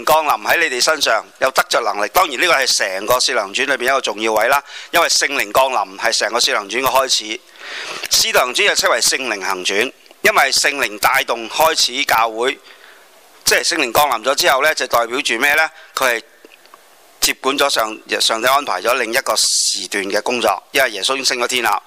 降臨喺你哋身上，有得着能力。當然呢個係成個使徒行傳裏邊一個重要位啦，因為聖靈降臨係成個使徒行傳嘅開始。使徒行傳就稱為聖靈行傳，因為聖靈帶動開始教會，即係聖靈降臨咗之後呢，就代表住咩呢？佢係接管咗上帝安排咗另一個時段嘅工作，因為耶穌已經升咗天啦。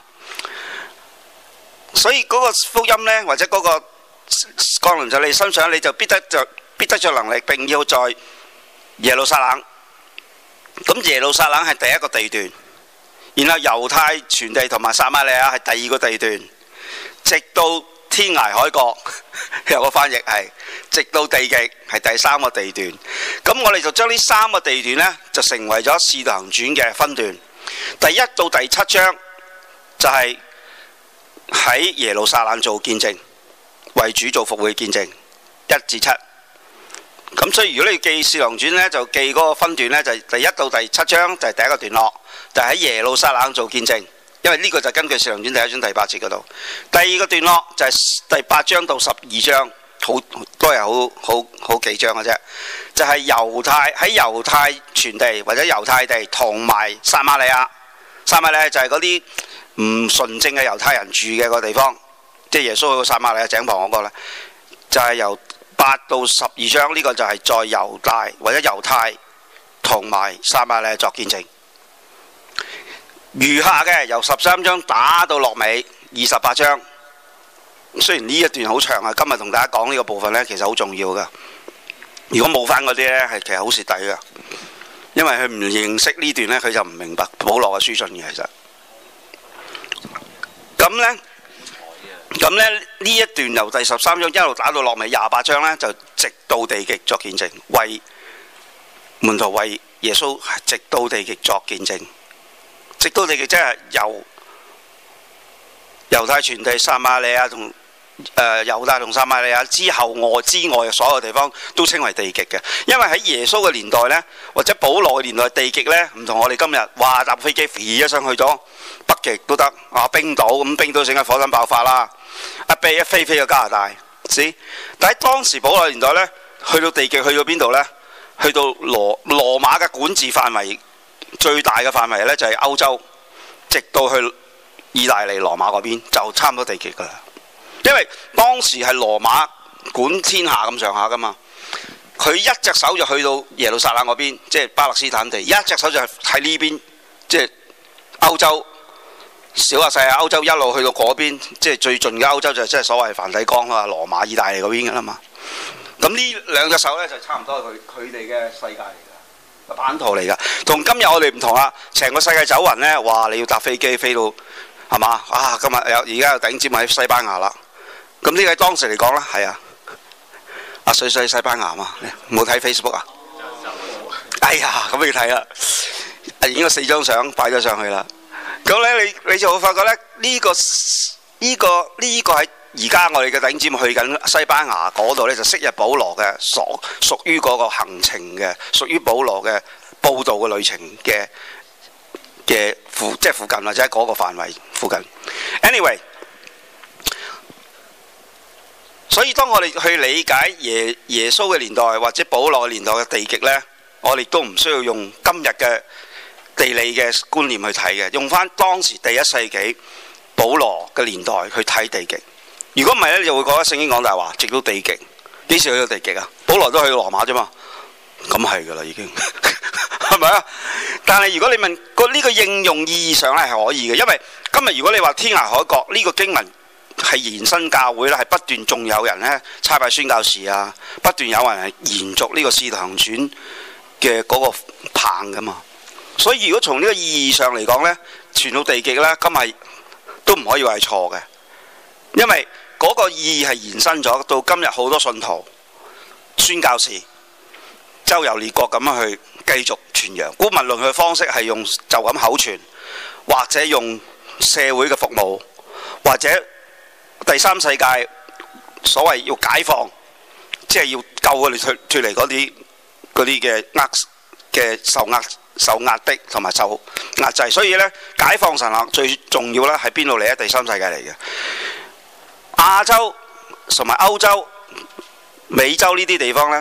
所以嗰個福音呢，或者嗰個降臨在你身上，你就必得着能力，並要在耶路撒冷。咁耶路撒冷係第一個地段，然後猶太全地同埋撒瑪利亞係第二個地段，直到天涯海角，有個翻譯係直到地極係第三個地段。咁我哋就將呢三個地段呢，就成為咗《使徒行傳》嘅分段。第一到第7章就係喺耶路撒冷做見證，為主做復會見證1至7。咁所以如果你記《使徒行傳》呢，就記嗰個分段呢，就係第1到第7章就係第一個段落，就喺耶路撒冷做見證。因為呢個就根據《使徒行傳》第1章第8節嗰度。第二個段落就係第8章到12章，都係好幾章嘅啫。就係喺猶太全地或者猶太地同埋撒瑪利亞。撒瑪利亞就係嗰啲唔純正嘅猶太人住嘅個地方，即係耶穌去到撒瑪利亞井旁嗰個呢，就係由8到12章，呢個就係在猶大或者猶太同埋撒瑪利亞作見證。餘下嘅由13章打到落尾28章，雖然呢一段好長啊，今日同大家講呢個部分呢，其實好重要噶。如果冇翻嗰啲呢，係其實好蝕底噶，因為佢唔認識呢段呢，佢就唔明白保羅嘅書信嘅。其實咁呢呢一段由第13章一路打到落尾28章呢，就直到地極作見證，為門徒為耶穌直到地極作見證。直到地極即係由猶太全地、撒瑪利亞同猶大同撒瑪利亞之後之外嘅所有地方都稱為地極嘅。因為喺耶穌嘅年代呢，或者保羅嘅年代，地極呢唔同我哋今日話搭飛機飛一上去咗北極都得啊，冰島咁，冰島整緊火山爆發啦，一飛去加拿大。但喺當時保羅年代呢，去到地極去到邊度呢？去到羅馬嘅管治範圍。最大嘅範圍呢，就係歐洲，直到去意大利羅馬嗰邊就差唔多地極噶啦。因為當時係羅馬管天下咁上下噶嘛，佢一隻手就去到耶路撒冷嗰邊，即係巴勒斯坦地；一隻手就係喺呢邊，即係歐洲小亞細亞歐洲一路去到嗰邊，即係最盡嘅歐洲就即係所謂梵蒂岡啊、羅馬、意大利嗰邊噶啦嘛。咁呢兩隻手呢，就差唔多佢哋嘅世界嚟㗎。個版圖嚟噶，同今日我哋唔同啦。成個世界走勻呢，哇！你要搭飛機飛到係嘛啊？今日而家有頂尖喺西班牙啦。咁呢個當時嚟講呢，係啊，阿水西班牙嘛，冇睇 Facebook 啊？哎呀，咁你睇啦，影咗4張相擺咗上去啦。咁呢，你就會發覺呢，呢個係而家我哋嘅頂尖去緊西班牙嗰度呢，就昔日保羅嘅屬於嗰個行程嘅，屬於保羅嘅報道嘅旅程嘅附近或者嗰個範圍附近。Anyway， 所以當我哋去理解耶穌嘅年代或者保羅嘅年代嘅地極呢，我哋都唔需要用今日嘅地理嘅觀念去睇嘅，用翻當時第1世紀保羅嘅年代去睇地極。如果唔係呢，你就會覺得聖經講大話，直到地極。幾時去到地極啊？保羅都去羅馬啫嘛，咁係噶啦已經，係咪啊？但係如果你問呢個應用意義上咧係可以嘅，因為今日如果你話天涯海角呢個經文係延伸教會咧，係不斷仲有人呢差派宣教士啊，不斷有人係延續呢個使徒行傳嘅嗰個棒噶嘛。所以如果從呢個意義上嚟講呢，傳到地極呢，今日都唔可以話係錯嘅，因為嗰個意義係延伸咗到今日，好多信徒、宣教士周遊列國咁樣去繼續傳揚。無論佢嘅方式係用就咁口傳，或者用社會嘅服務，或者第三世界所謂要解放，即係要救佢哋脱離嗰啲嘅受壓迫同埋受壓制。所以呢，解放神學最重要呢係邊度嚟呢？第三世界嚟嘅。亞洲同埋歐洲、美洲呢啲地方呢，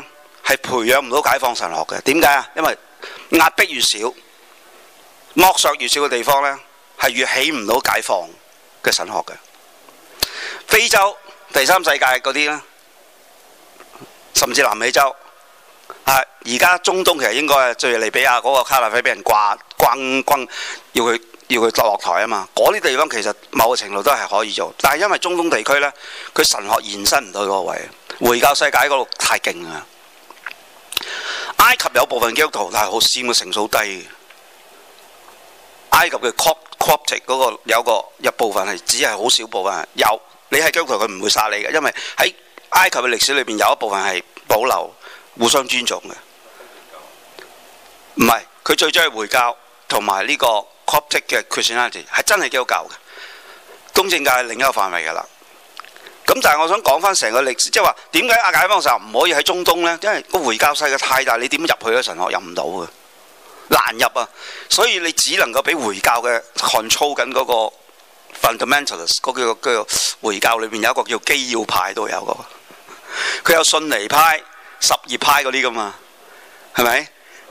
係培養唔到解放神學嘅。點解啊？因為壓迫越少，剝削越少嘅地方呢，係越起唔到解放嘅神學嘅。非洲第三世界嗰啲呢，甚至南美洲而家中東其實應該係敍利比亞嗰個卡納菲俾人轟，要佢落台啊嘛。嗰啲地方其實某個程度都係可以做，但係因為中東地區呢，佢神學延伸唔到嗰個位，回教世界嗰度太勁啊。埃及有部分基督徒，但係好佔嘅成數低嘅。埃及嘅 Coptic 嗰個有部分係只係好少部分有，你係基督徒佢唔會殺你嘅，因為喺埃及嘅歷史裏邊有一部分係保留互相尊重嘅。唔係，佢最終係回教同埋呢個 Coptic 嘅 Christianity 係真係基督教嘅，東正教係另一個範圍㗎啦。咁但係我想講翻成個歷史，即係話點解解放神唔可以喺中東呢？因為個回教世界太大，你點入去咧？神學入唔到嘅，難入啊！所以你只能夠俾回教嘅 control 緊嗰個 fundamentalist 嗰個回教裏邊有一個叫基要派都有個，佢有遜尼派、什葉派嗰啲噶嘛，係咪？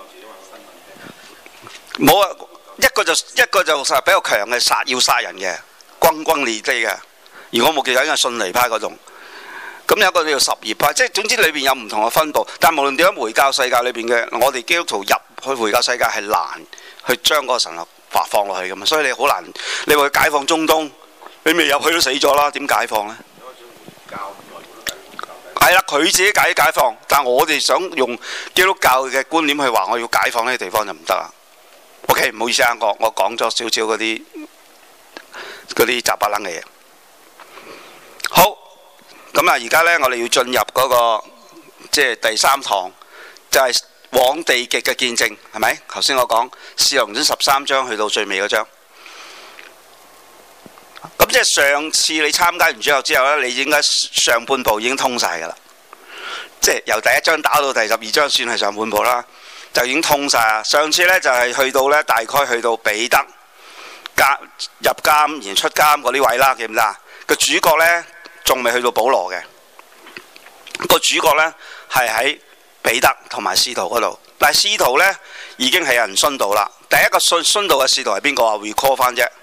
冇啊！一個就比較強嘅要殺人嘅，轟烈啲嘅。如果我冇記錯，應該係遜尼派嗰種。咁有一個叫什葉派，即係總之裏邊有唔同嘅分佈。但係無論點樣，回教世界裏邊嘅我哋基督徒入去回教世界係難去將嗰個神學放落去㗎嘛，所以你好難。你話解放中東，你未入去都死咗啦，點解放呢？係啦，佢自己解放，但係我哋想用基督教嘅觀念去話我要解放呢個地方就唔得啦。OK， 唔好意思啊，我講咗少少嗰啲雜巴冷嘅嘢。好，咁啊，而家呢，我哋要進入嗰個即係第三堂，就係往地極嘅見證，係咪？頭先我講《使徒行傳》13章去到最尾嗰章，咁即係上次你參加完之後呢，你應該上半部已經通晒㗎啦，即係由第一章打到第12章算係上半部啦，就已經通晒啦。上次呢，就係去到呢，大概去到彼得入監然出監嗰啲位啦，記唔記得啊？個主角呢，仲未去到保羅嘅，個主角呢，係喺彼得同埋使徒嗰度，但係使徒呢，已經係有人殉道啦。第一個殉道嘅使徒係邊個啊 ？recall 翻啫，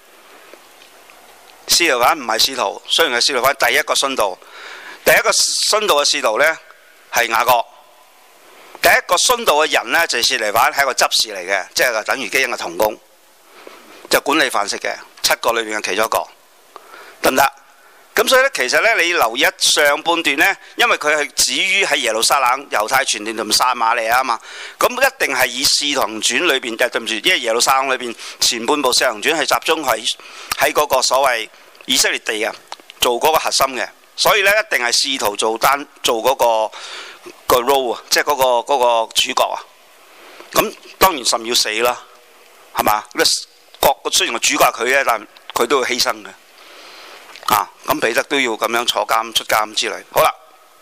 使徒反唔係使徒，雖然係使徒反，第一個殉道，第一個殉道嘅使徒呢，係雅各，第一個殉道嘅人呢，就係司提反，係一個執事嚟嘅，即係等於基恩嘅同工，就管理飯食嘅7個裏邊嘅其中一個，得唔得？咁所以咧，其實咧，你留意上半段呢，因為佢係止於喺耶路撒冷、猶太全地同撒瑪利亞啊嘛，咁一定係以《使徒行傳》裏邊，對唔住，因為耶路撒冷裏邊前半部《使徒行傳》係集中喺嗰個所謂以色列地啊，做嗰個核心嘅，所以咧一定係使徒做嗰個 role 啊，即係嗰個主角啊。咁當然甚要死啦，係嘛？雖然個主角係佢咧，但佢都會犧牲嘅。咁彼得都要咁樣坐監出監之類。好啦，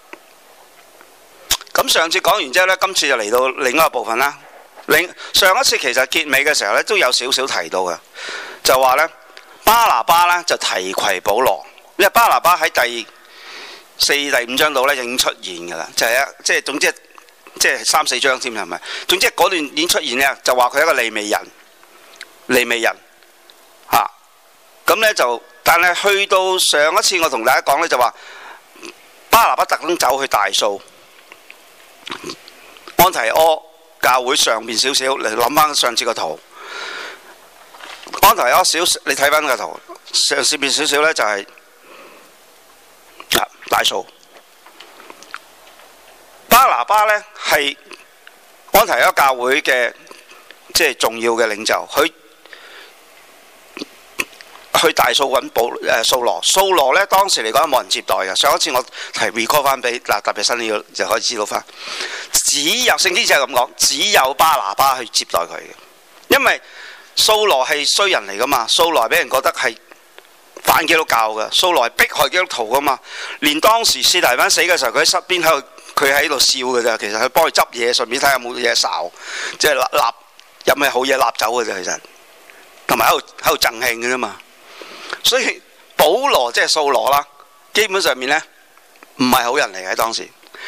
咁上次講完之後呢，今次就嚟到另一個部分啦。上一次其實結尾嘅時候呢，都有少少提到嘅，就話呢，巴拿巴呢就提攜保羅，因為巴拿巴喺第4、第5章度呢已經出現㗎啦，即係總之即係3、4章添係咪？總之嗰段已經出現呢，就話佢係一個利未人咁呢就。但係去到上一次我同大家講呢，就話巴拿巴特登走去大數安提阿教會上面少少，嚟諗翻上次個圖。安提阿你睇翻個圖上邊少少呢，就係大數。巴拿巴呢係安提阿教會嘅即係重要嘅領袖，佢去大數揾掃羅呢，當時嚟講冇人接待嘅。上一次我提 recall 翻俾特別新呢個就可以知道翻，只有聖經就係咁講，只有巴拿巴去接待佢嘅，因為掃羅係衰人嚟噶嘛，掃羅俾人覺得係反基督教嘅，掃羅係迫害基督徒噶嘛，連當時司提反死嘅時候，佢喺側邊佢喺度笑嘅咋，其實佢幫佢執嘢，順便睇下有冇嘢哨，即係立有咩好嘢立走嘅啫，其實同埋喺度贈慶嘅啫嘛。所以保羅即係掃羅啦，基本上面呢唔係好人嚟嘅當時。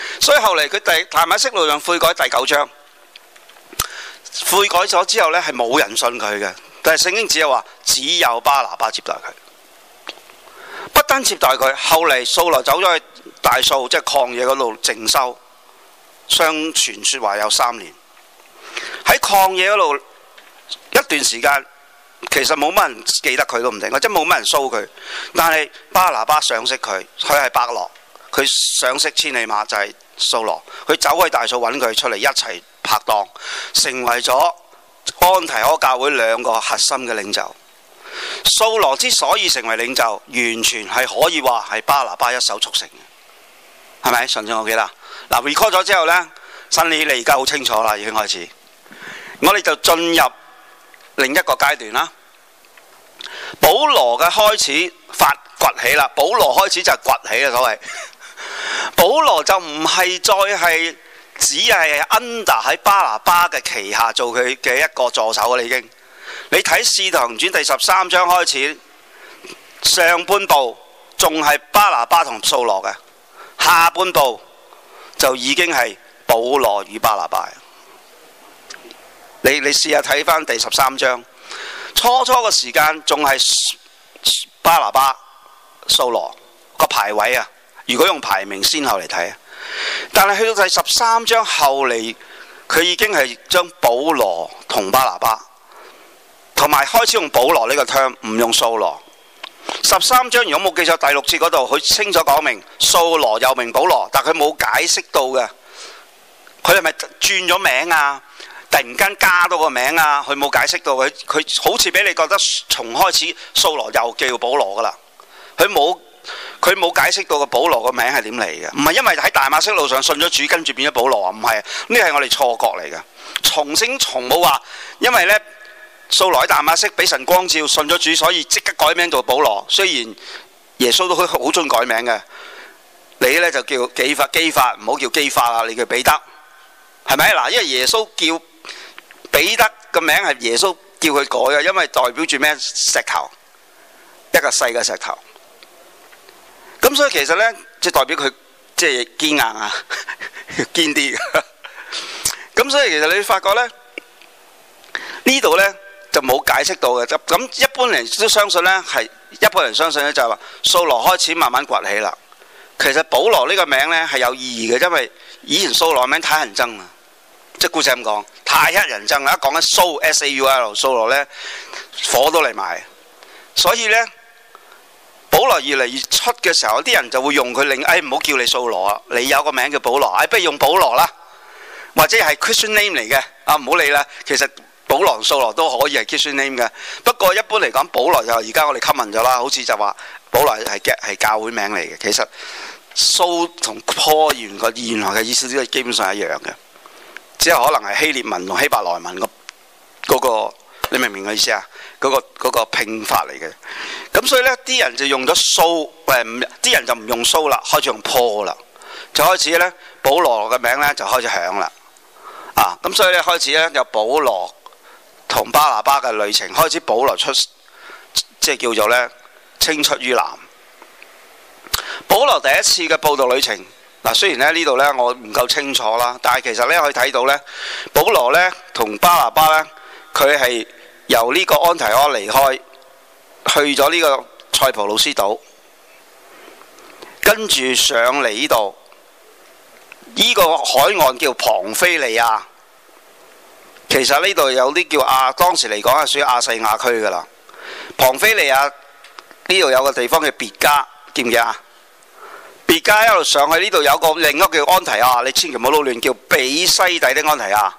所以後嚟佢大馬色路上悔改第9章，悔改咗之後呢，係冇人信佢嘅，但係聖經只係話只有巴拿巴接待佢，不單接待佢，後嚟掃羅走咗去大數，即係曠野嗰度靜修，相傳說話有3年，喺曠野嗰度一段時間，其實冇乜人記得佢都唔定，或者冇乜人騷佢，但係巴拿巴賞識佢，佢係伯樂，佢賞識千里馬就係掃羅，佢走去大數揾佢出嚟一齊拍檔，成為咗安提阿教會2個核心嘅領袖。掃羅之所以成為領袖，完全係可以話係巴拿巴一手促成嘅，係咪？上次我記得嗱 record 咗之後呢，新理你而家好清楚啦，已經開始，我哋就進入另一個階段啦。保羅嘅開始崛起啦，保羅開始就係崛起啦，所謂保羅就唔係再係只係 under 喺巴拿巴嘅旗下做佢嘅一個助手啦，已經。你睇《使徒行傳》第13章開始，上半部仲係巴拿巴同掃羅嘅，下半部就已經係保羅與巴拿巴。你試下睇翻第13章，初嘅時間仲係巴拿巴、掃羅個排位啊。如果用排名先後嚟睇，但係去到第13章後嚟，佢已經係將保羅同巴拿巴，同埋開始用保羅呢個 term， 唔用掃羅。13章如果冇記錯，第6節嗰度佢清楚講明掃羅又名保羅，但佢冇解釋到嘅，佢係咪轉咗名啊？突然間加多個名啊？佢冇解釋到，佢好似俾你覺得從開始掃羅又叫保羅噶啦，佢冇解釋到個保羅個名係點嚟嘅，唔係因為喺大馬色路上信咗主跟住變咗保羅啊，唔係，呢係我哋錯覺嚟嘅。從冇話，因為呢掃羅喺大馬色俾神光照信咗主，所以即刻改名做保羅。雖然耶穌都好中意改名嘅，你呢就叫基法，唔好叫基法啦，你叫彼得，係咪？嗱，因為耶穌叫彼得個名係耶穌叫佢改嘅，因為代表住咩？石頭，一個細嘅石頭。咁所以其實呢，即係代表佢即係堅硬啊，堅啲嘅。咁所以其實你發覺呢，呢度呢就冇解釋到嘅。咁一般人都相信呢，係一般人相信呢，就係話掃羅開始慢慢崛起啦。其實保羅呢個名呢係有意義嘅，因為以前掃羅名太人憎啦，即係故事咁講，太乞人憎啦。一講緊掃 S-A-U-L 掃羅呢，火都嚟埋，所以呢。保羅越嚟越出嘅時候，啲人就會用佢唔好叫你掃羅啊，你有個名叫保羅，不如用保羅啦，或者係 Christian name 嚟嘅啊，唔好理啦。其實保羅同掃羅都可以係 Christian name 嘅，不過一般嚟講，保羅就而家我哋 common 咗啦，好似就話保羅係教會名嚟嘅。其實掃同 Paul 原來嘅意思都係基本上一樣嘅，只係可能係希臘文同希伯來文嗰個，你明唔明我意思啊？嗰個拼法嚟嘅。咁所以呢啲人就用咗掃，啲人就唔用掃啦，開始用 Paul 啦，就開始呢，保羅嘅名呢就開始響啦。咁所以呢，開始呢，有保羅同巴拿巴嘅旅程，開始保羅出，即係叫做呢，青出於藍。保羅第一次嘅佈道旅程，雖然呢度呢我唔夠清楚啦，但係其實呢可以睇到呢，保羅呢同巴拿巴呢，佢係由呢個安提阿離開，去咗呢個塞浦路斯島，跟住上嚟呢度，呢個海岸叫龐菲利亞。其實呢度有啲叫當時嚟講係屬於亞細亞區噶啦。龐菲利亞呢度有個地方叫別加，記唔記啊？別加一路上去呢度有個另一個叫安提亞，你千祈唔好撈亂，叫比西底的安提亞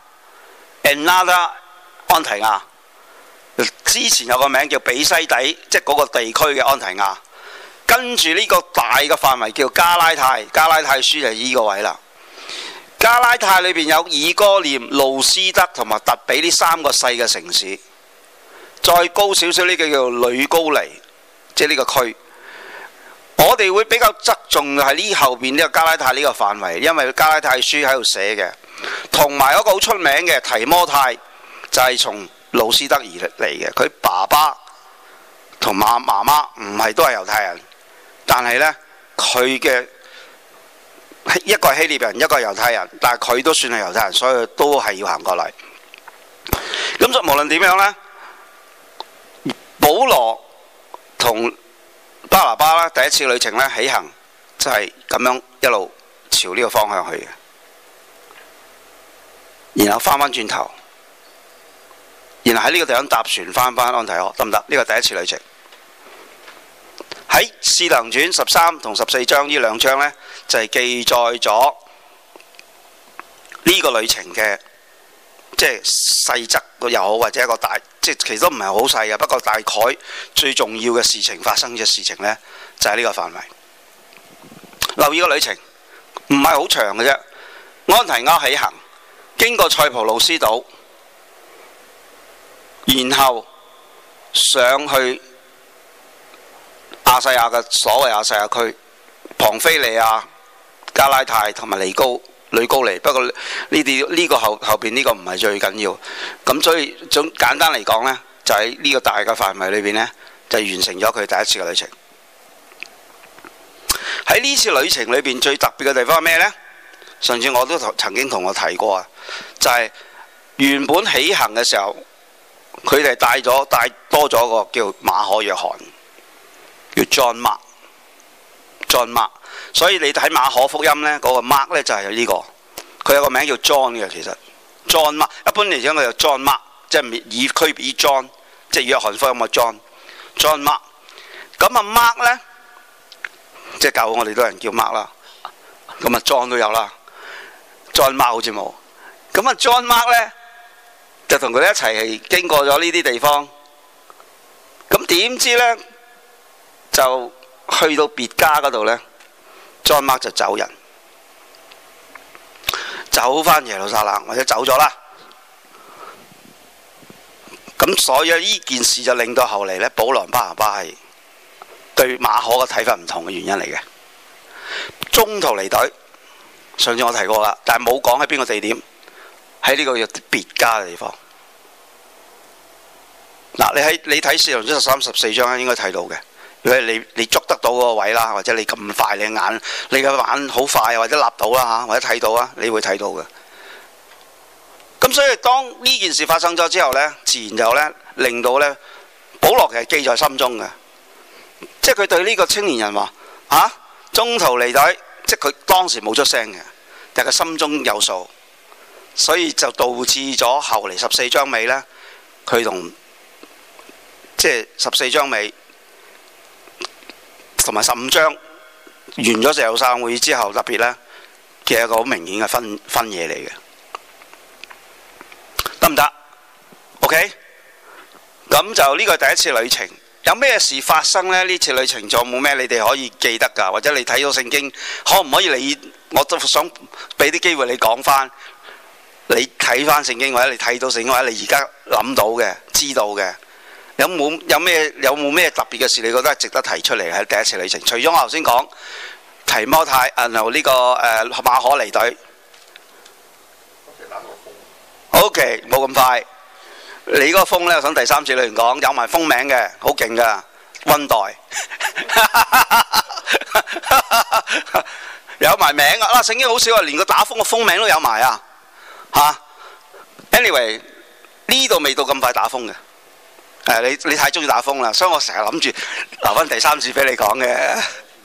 ，another 安提亞。之前有個名叫比西底，即係嗰個地區嘅安提亞。跟住呢個大嘅範圍叫加拉太，加拉太書就係呢個位啦。加拉太裏邊有以哥念、路斯德同埋特比呢3個細嘅城市。再高少少呢個叫呂高尼，即係呢個區。我哋會比較側重係呢後邊呢個加拉太呢個範圍，因為加拉太書喺度寫嘅，同埋一個好出名嘅提摩太就係從路斯德而嚟嘅。佢爸爸同媽媽唔係都係猶太人，但係呢，佢嘅一個係希臘人，一個係猶太人，但係佢都算係猶太人，所以都係要行過嚟。咁就無論點樣呢，保羅同巴拿巴啦，第一次旅程呢，起行就係咁樣一路朝呢個方向去嘅，然後翻返轉頭，然後喺呢個地方搭船翻安提阿，得唔得？呢個第一次旅程。喺《使徒行傳》13同14章呢兩章呢，就係記載咗呢個旅程嘅即係細則又好，或者一個大，即係其實都唔係好細嘅，不過大概最重要嘅事情發生嘅事情呢，就係呢個範圍。留意個旅程唔係好長嘅啫，安提阿起行，經過塞浦路斯島，然後上去亞細亞嘅所謂亞細亞區，龐菲利亞、加拉太同埋呂高尼。不過呢個後邊呢個唔係最緊要。咁所以總簡單嚟講呢，就喺呢個大嘅範圍裏邊呢，就完成咗佢第一次嘅旅程。喺呢次旅程裏邊最特別嘅地方係咩呢？上次我都曾經同我提過啊，就係原本起行嘅時候，佢哋帶多咗個叫馬可約翰。叫 John Mark，所以你睇馬可福音呢，嗰個 Mark 呢就係呢個，佢有個名叫 John 嘅，其實 John Mark 一般嚟講佢就 John Mark， 即係以區別於 John， 即係約翰福音嘅 John Mark。咁啊 Mark 呢，即係教會我哋都有人叫 Mark 啦，咁啊 John 都有啦，John Mark 好似冇。咁啊 John Mark 呢，就同佢哋一齊經過咗呢啲地方，咁點知呢？就去到別家嗰度呢， John Mark 就走人，走返耶路撒冷或者走咗啦。咁所以呢件事就令到後嚟呢，保羅巴拿巴係對馬可嘅睇法唔同嘅原因嚟嘅。中途離隊，上次我提過啦，但係冇講喺邊個地點，喺呢個叫別家嘅地方。嗱，你睇《使徒行傳》13、14章應該睇到嘅。如果你捉得到嗰個位啦，或者你咁快你嘅眼好快，或者立到啦嚇，或者睇到啊，你會睇到嘅。咁所以當呢件事發生咗之後呢，自然就呢令到呢保羅其實記在心中嘅，即係佢對呢個青年人話中途離隊，即係佢當時冇出聲嘅，但係佢心中有數，所以就導致咗後嚟14章尾呢，佢同即係14章尾。同埋15章完咗耶路撒冷會議之後，特別呢，其實一個好明顯嘅分野嚟嘅，得唔得 ？OK， 咁就呢個係第一次旅程。有咩事發生呢？呢次旅程仲有冇咩你哋可以記得㗎？或者你睇到聖經，可唔可以我都想俾啲機會你講翻，你睇翻聖經，或者你睇到聖經，或者你而家諗到嘅、知道嘅。有冇咩特別嘅事？你覺得係值得提出嚟喺第一次旅程？除咗我頭先講提摩太，然後呢個馬可離隊。OK， 冇咁快。你嗰個風呢，我想第三次裏面講有埋風名嘅，好勁噶，溫代有埋名啊！聖經好少啊，連個打風嘅風名都有埋啊！Anyway， 呢度未到咁快打風嘅。你太中意打風啦，所以我成日諗住留翻第三次俾你講嘅。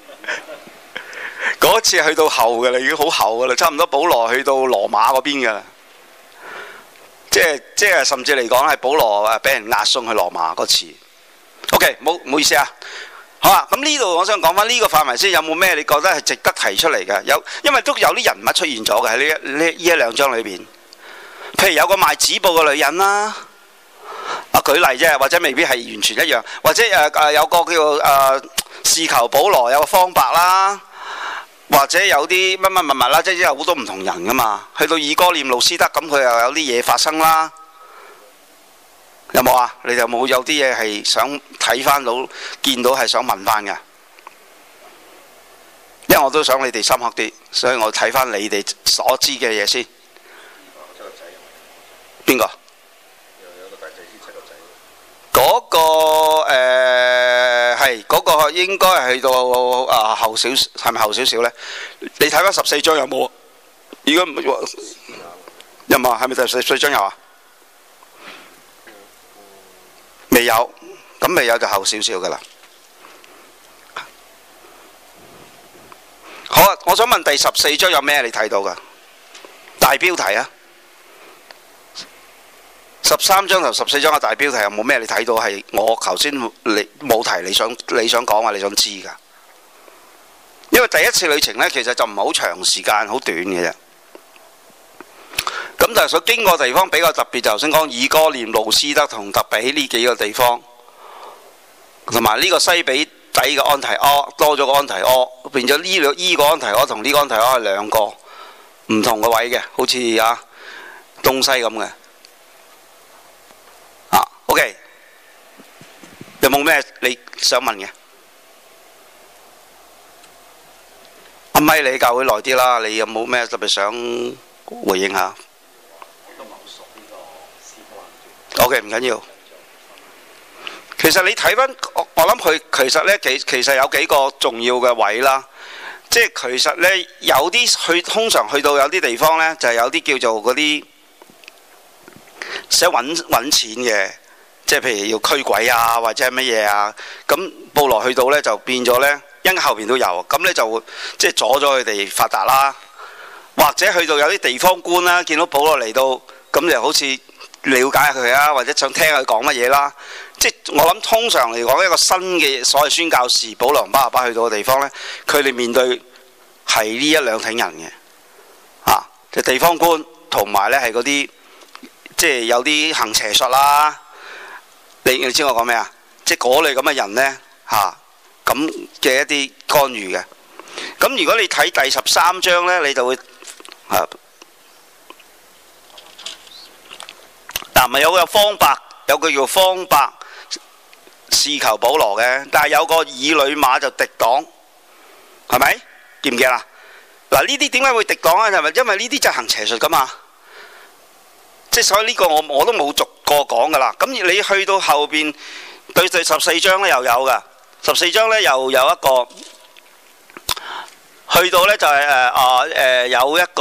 嗰次去到後嘅啦，已經好後嘅啦，差唔多保羅去到羅馬嗰邊嘅啦。即係甚至嚟講係保羅俾人押送去羅馬嗰次。OK， 唔好意思啊。好啊，咁呢度我想講翻呢個範圍先，有冇咩你覺得係值得提出嚟嘅？因為都有啲人物出現咗嘅喺呢一兩章裏邊。譬如有個賣紙布嘅女人啦。舉例啫，或者未必係完全一樣，或者有個叫試求保羅有個方伯啦，或者有啲乜啦，即係有好多唔同人噶嘛。去到以哥念路斯德，咁佢又有啲嘢發生啦。有冇啊？你哋有啲嘢係想睇翻到、見到係想問翻嘅？因為我都想你哋深刻啲，所以我睇翻你哋所知嘅嘢先。邊個？嗰個係嗰個應該係去到後少，係咪後少少呢？你睇翻14章有冇？如果有冇？係咪第14章有啊？未有，咁未有就後少少噶啦。好啊，我想問第14章有咩你睇到噶？大標題啊！13章同14章嘅大標題有冇咩你睇到係我頭先你冇提你想講話你想知噶？因為第一次旅程呢，其實就唔係好長時間，好短嘅啫。咁但係所經過嘅地方比較特別，就頭先講以哥念、路斯德同特比呢幾個地方，同埋呢個西比底嘅安提阿多咗個安提阿，變咗呢個安提阿同呢個安提阿係兩個唔同嘅位嘅，好似東西咁嘅。OK， 有冇咩你想問嘅？阿咪你教會耐啲啦，你有冇咩特別想回應下？我都唔係好熟呢個司徒行傳。OK， 唔緊要。其實你睇翻我諗佢其實呢，其實有幾個重要嘅位啦。即係其實呢，有啲通常去到有啲地方呢，就係有啲叫做嗰啲想揾錢嘅。即係譬如要驅鬼啊，或者係乜嘢啊，咁保羅去到呢，就變咗呢，因後邊都有，咁呢就即係阻咗佢哋發達啦。或者去到有啲地方官啦，見到保羅嚟到，咁就好似了解下佢啊，或者想聽佢講乜嘢啦。即係我諗通常嚟講，一個新嘅所謂宣教士保羅同巴拿巴去到嘅地方呢，佢哋面對係呢一兩挺人嘅，就地方官同埋呢係嗰啲即係有啲行邪術啦。你知我講咩啊？即係嗰類咁嘅人呢，咁嘅一啲干預嘅。咁如果你睇第13章呢，你就會咪有個方伯，有個叫方伯試求保羅嘅，但係有個以呂馬就敵擋，係咪？記唔記啦？嗱，呢啲點解會敵擋啊？係咪因為呢啲就行邪術噶嘛？即係所以呢個我都冇逐個講噶啦。咁你去到後邊對第14章呢又有噶，14章呢又有一個去到呢就係有一個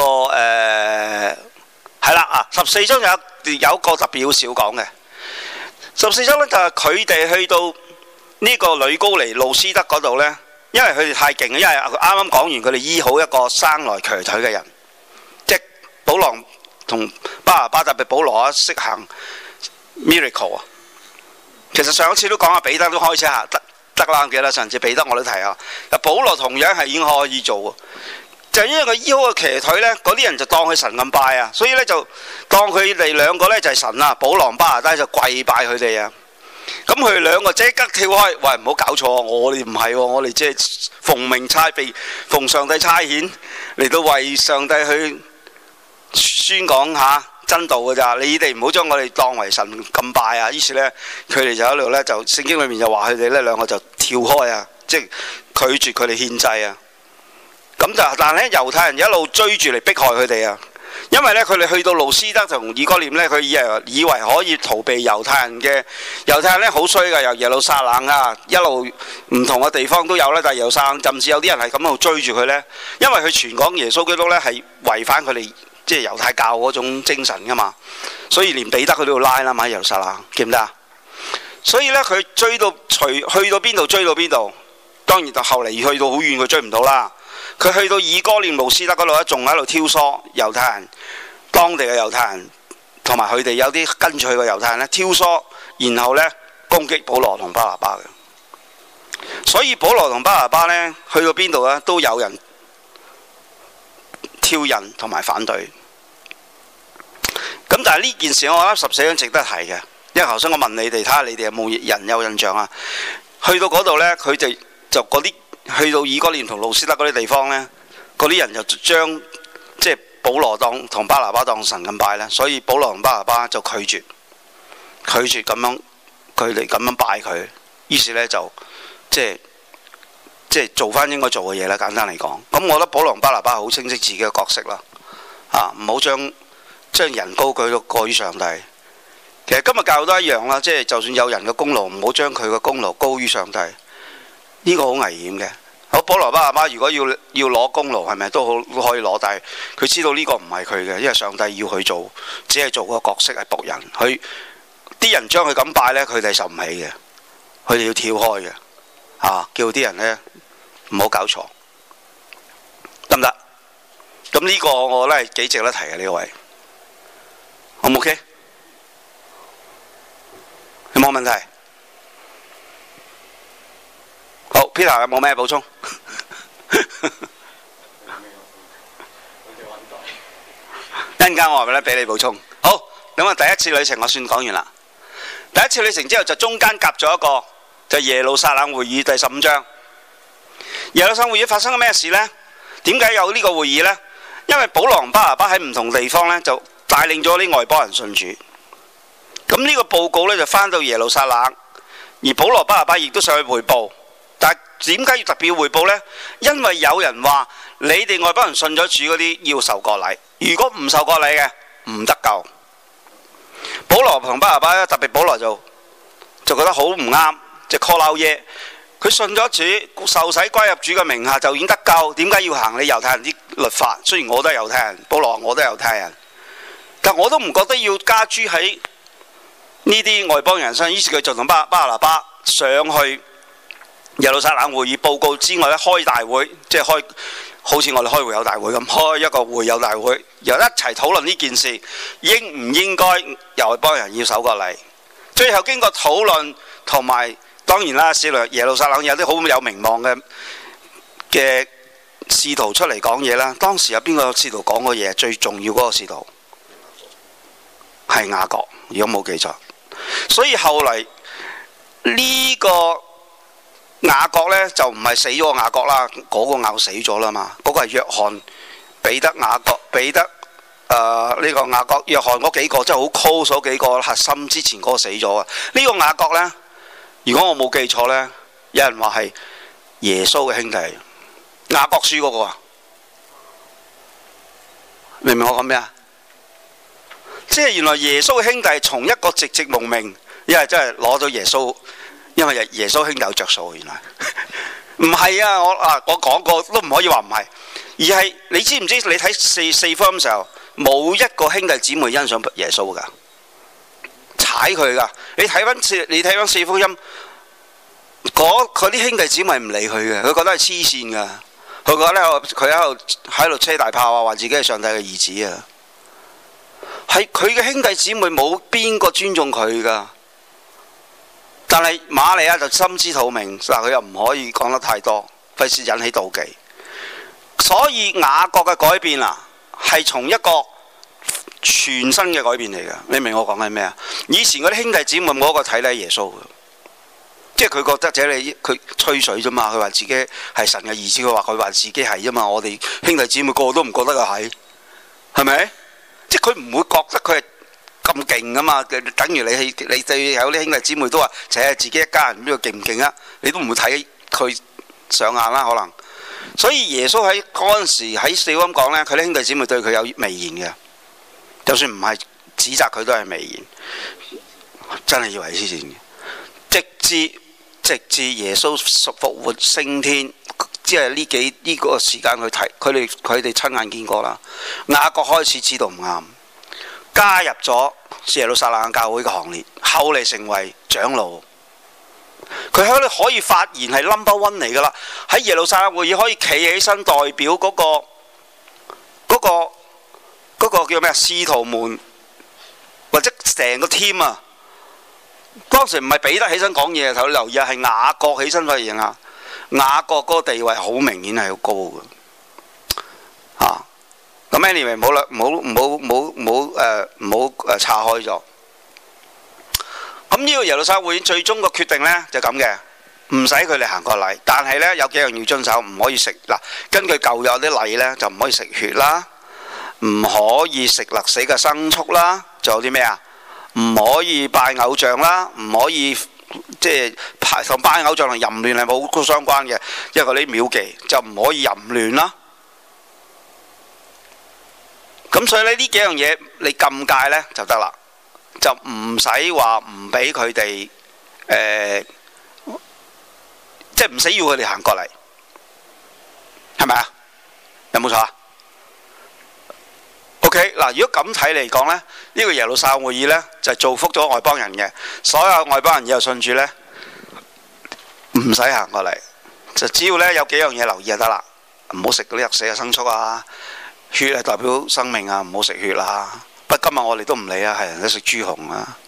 係啦14章有一個特別好少講嘅。14章呢就係佢哋去到呢個呂高尼路斯德嗰度呢，因為佢哋太勁，因為啱啱講完佢哋醫好一個生來瘸腿嘅人，即係保羅同巴拿巴特別保羅識行 miracle 啊！其實上一次都講下彼得都開始行得啦，記得上次彼得我都提啊。保羅同樣係已經可以做，就係因為佢醫好個瘸腿呢，嗰啲人就當佢神咁拜啊，所以呢，就當佢哋兩個呢就係神啊，保羅巴拿巴就跪拜佢哋啊。咁佢哋兩個即刻跳開，喂，唔好搞錯，我哋唔係喎，我哋即係奉上帝差遣嚟到為上帝去宣講下真道㗎咋，你哋唔好將我哋當為神咁拜啊！於是呢，佢哋就喺度呢，就聖經裏面就話佢哋呢兩個就跳開啊，即係拒絕佢哋獻祭啊。咁就但係呢，猶太人一路追住嚟迫害佢哋啊，因為呢，佢哋去到路斯德同以哥念呢，佢以為可以逃避猶太人呢好衰㗎，由耶路撒冷啊一路唔同嘅地方都有呢，但係耶路撒冷甚至有啲人係咁喺度追住佢呢，因為佢傳講耶穌基督呢係違反佢哋即係猶太教嗰種精神㗎嘛，所以連彼得佢都要拉啦嘛，耶路撒冷記唔得啊？所以呢，佢追到去到邊度追到邊度，當然就後嚟去到好遠佢追唔到啦。佢去到以哥念路斯德嗰度咧，仲喺度挑唆猶太人，當地嘅猶太人同埋佢哋有啲跟住佢嘅猶太人咧挑唆，然後呢攻擊保羅同巴拿巴嘅。所以保羅同巴拿巴呢，去到邊度呢，都有人挑釁同埋反對。咁但係呢件事我覺得14章值得提嘅，因為頭先我問你哋睇下你哋有冇人有印象啊？去到嗰度呢，佢哋就嗰啲。去到以哥念同路斯德嗰啲地方呢，嗰啲人就將即係保羅同巴拿巴當神咁拜呢，所以保羅同巴拿巴就拒絕咁樣佢哋咁樣拜佢，於是呢，就即係做翻應該做嘅嘢啦。簡單嚟講，咁我覺得保羅同巴拿巴好清晰自己嘅角色啦，唔好將人高舉到過於上帝。其實今日教都一樣啦，即係就算有人嘅功勞，唔好將佢嘅功勞高於上帝。 呢個好危險嘅。好，保羅巴拿巴如果要攞功勞，係咪都可以攞？但係佢知道呢個唔係佢嘅，因為上帝要佢做，只係做個角色係僕人。佢啲人將佢咁拜呢，佢哋受唔起嘅，佢哋要跳開嘅。叫啲人呢唔好搞錯，得唔得？咁呢個我覺得係幾值得提嘅呢位，好唔 OK？有冇問題？好 ，Peter 有冇咩補充？一陣間我話俾你補充。好，咁啊，第一次旅程我算講完啦。第一次旅程之後就中間夾咗一個，就耶路撒冷會議第15章。耶路撒冷會議發生咗咩事呢？點解有呢個會議呢？因為保羅同巴拿巴喺唔同地方呢，就帶領咗啲外邦人信主。咁呢個報告呢，就返到耶路撒冷，而保羅巴拿巴亦都上去彙報。但係點解要特別彙報呢？因為有人話你哋外邦人信咗主嗰啲要受割禮，如果唔受割禮嘅唔得救。保羅同巴拿巴咧，特別保羅就覺得好唔啱，即係 call out 耶。佢信咗主，受洗歸入主嘅名下就已經得救，點解要行你猶太人啲律法？雖然我都係猶太人，保羅話我都係猶太人，但我都唔覺得要加諸喺呢啲外邦人身上。於是佢就同巴拿巴上去耶路撒冷會議報告之外咧，開大會，即係開好似我哋開會友大會咁，開一個會友大會，又一齊討論呢件事應唔應該由外邦人要守割禮。最後經過討論同埋，當然啦，耶路撒冷有啲好有名望嘅使徒出嚟講嘢啦。當時有邊個使徒講過嘢？最重要嗰個使徒係雅各，如果冇記錯。所以後嚟呢個雅各呢，就唔係死咗個雅各啦，嗰個雅各死咗啦嘛。嗰個係約翰、彼得、雅各、彼得呢個雅各、約翰嗰幾個，即係好 close 嗰幾個核心之前嗰個死咗啊。呢個雅各呢，如果我冇記錯呢，有人話係耶穌嘅兄弟，雅各書嗰個啊，明唔明我講咩啊？即係原來耶穌嘅兄弟從一個籍籍無名，因為真係攞到耶穌，因為耶穌兄弟有着數。原來唔係啊！我講過都唔可以話唔係，而係你知唔知？你睇四福音嘅時候，冇一個兄弟姊妹欣賞耶穌噶，踩佢噶。你睇翻四福音，嗰啲兄弟姊妹唔理佢嘅，佢覺得係黐線噶，佢覺得佢喺度車大炮啊，話自己係上帝嘅兒子啊。係佢嘅兄弟姊妹冇邊個尊重佢噶，但係瑪利亞就心知肚明，但佢又唔可以講得太多，費事引起妒忌。所以雅各嘅改變啊，係從一個全新嘅改變嚟嘅。你明我講緊咩啊？以前嗰啲兄弟姊妹冇一個睇低耶穌嘅，即係佢覺得佢吹水啫嘛。佢話自己係神嘅兒子，佢話自己係啫嘛。我哋兄弟姊妹個個都唔覺得佢係咪？即係佢唔會覺得佢係咁勁噶嘛。等於你對有啲兄弟姊妹都話，就係自己一家人邊個勁唔勁啊？你都唔會睇佢上眼啦，可能。所以耶穌喺嗰陣時喺四福音講呢，佢啲兄弟姊妹對佢有微言嘅，就算唔係指責佢都係微言，真係以為黐線嘅。直至耶穌復活升天，即係呢個時間去睇，佢哋親眼見過啦。雅各開始知道唔啱，加入咗耶路撒冷教會嘅行列，後嚟成為長老。佢喺度可以發言係 number one 嚟噶啦，喺耶路撒冷會議可以企起身代表嗰個叫咩啊？使徒們或者成個 team 啊。當時唔係彼得起身講嘢，頭留意係雅各起身發言啊。雅各嗰個地位好明顯係好高嘅，咁 anyway 唔好啦，唔好岔開咗。咁呢個耶路撒冷會議最終個決定呢，就咁嘅，唔使佢哋行割禮，但係呢，有幾樣要遵守，唔可以食嗱。根據舊有啲禮呢，就唔可以食血啦，唔可以食勒死嘅牲畜啦，仲有啲咩啊？唔可以拜偶像啦，唔可以即係同拜偶像同淫亂係冇相關嘅，因為嗰啲廟妓就唔可以淫亂啦。咁所以呢幾樣嘢你禁戒呢就得啦，就唔使話唔俾佢哋即係唔使要佢哋行過嚟，係咪啊？有冇錯啊？OK 嗱，如果咁睇嚟講呢，呢個耶路撒冷會議呢，就係造福咗外邦人嘅，所有外邦人以後信主呢，唔使行過嚟，就只要呢有幾樣嘢留意就得啦，唔好食嗰啲死嘅牲畜啊，血係代表生命啊，唔好食血啦。不過今日我哋都唔理啊，係人都食豬紅啊，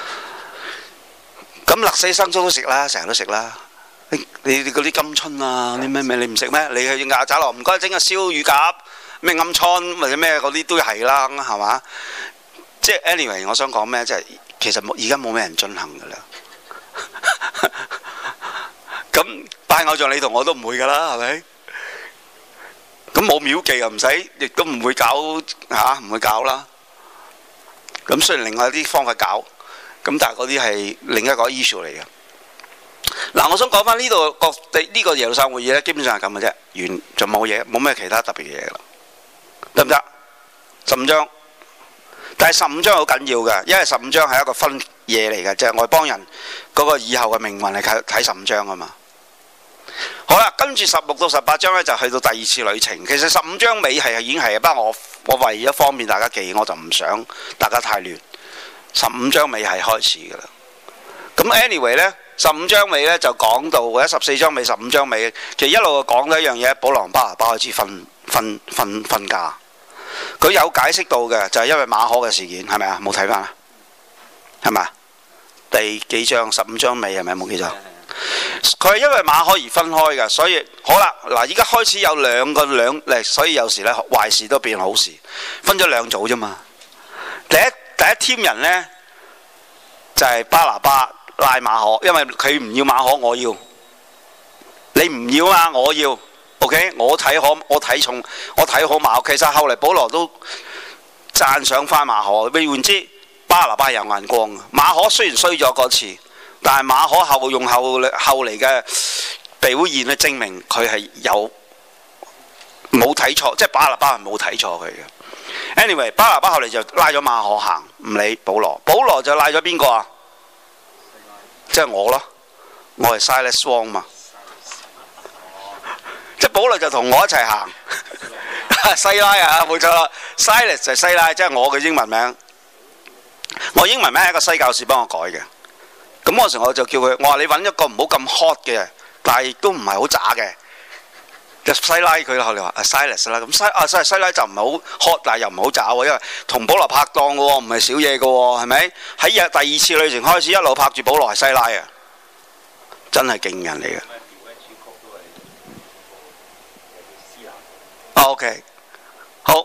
咁勒死牲畜都食啦，成日都食啦。你嗰啲金春啊，啲咩你唔食咩？你去亞仔樂唔該整個燒乳鴿。咩暗瘡或者咩嗰啲都係啦，係嘛？即係 anyway， 我想講咩？即係其實而家冇咩人進行㗎啦。咁拜偶像你同我都唔會㗎啦，係咪？咁冇廟妓又唔使，亦都唔會搞嚇，唔會搞啦。咁雖然另外啲方法搞，咁但係嗰啲係另一個 issue 嚟嘅。嗱，我想講翻呢度呢個耶路撒冷會議咧，基本上係咁嘅啫，完就冇嘢，冇咩其他特別嘅嘢啦。得唔得？15章，但係15章好緊要嘅，因為15章係一個分嘢嚟嘅，即係外邦人嗰個以後嘅命運係睇15章啊嘛。好啦，跟住16到18章呢，就去到第二次旅程。其實15章尾係已經係，不過我為咗方便大家記，我就唔想大家太亂。15章尾係開始㗎啦。咁 anyway 呢，15章尾呢就講到，或者14章尾、15章尾，其實一路講到一樣嘢，保羅巴拿巴開始分家。佢有解釋到嘅，就係因為馬可嘅事件，係咪啊？冇睇翻啊？係咪啊？第幾章？15章尾係咪？冇記錯。佢係因為馬可而分開嘅，所以好啦。嗱，依家開始有兩，所以有時咧壞事都變好事，分咗兩組啫嘛。第一 team 人呢，就係巴拿巴拉馬可，因為佢唔要馬可，我要。你唔要啊，我要。OK， 我睇好馬可。其實後嚟保羅都讚賞翻馬可。換言之，巴拿巴有眼光。馬可雖然衰咗嗰次，但係馬可後嚟嘅表現咧，證明佢係冇睇錯，即係巴拿巴係冇睇錯佢嘅。Anyway， 巴拿巴後嚟就拉咗馬可行，唔理保羅。保羅就拉咗邊個啊？即係我咯，我係 Silas Wong 嘛。即係保羅就同我一齊行，西拉啊，冇錯啦。Silas 就係西拉，即係我嘅英文名。我英文名係一個西教士幫我改嘅。咁嗰時我就叫佢，我話你揾一個唔好咁 hot 嘅，但係亦都唔係好渣嘅。就西拉佢後嚟話 Silas 啦。咁西拉就唔係好 hot，但係又唔好渣喎，因為同保羅拍檔嘅喎，唔係少嘢嘅喎，係咪？喺第二次旅程開始一路拍住保羅係西拉啊，真係勁人嚟嘅。OK， 好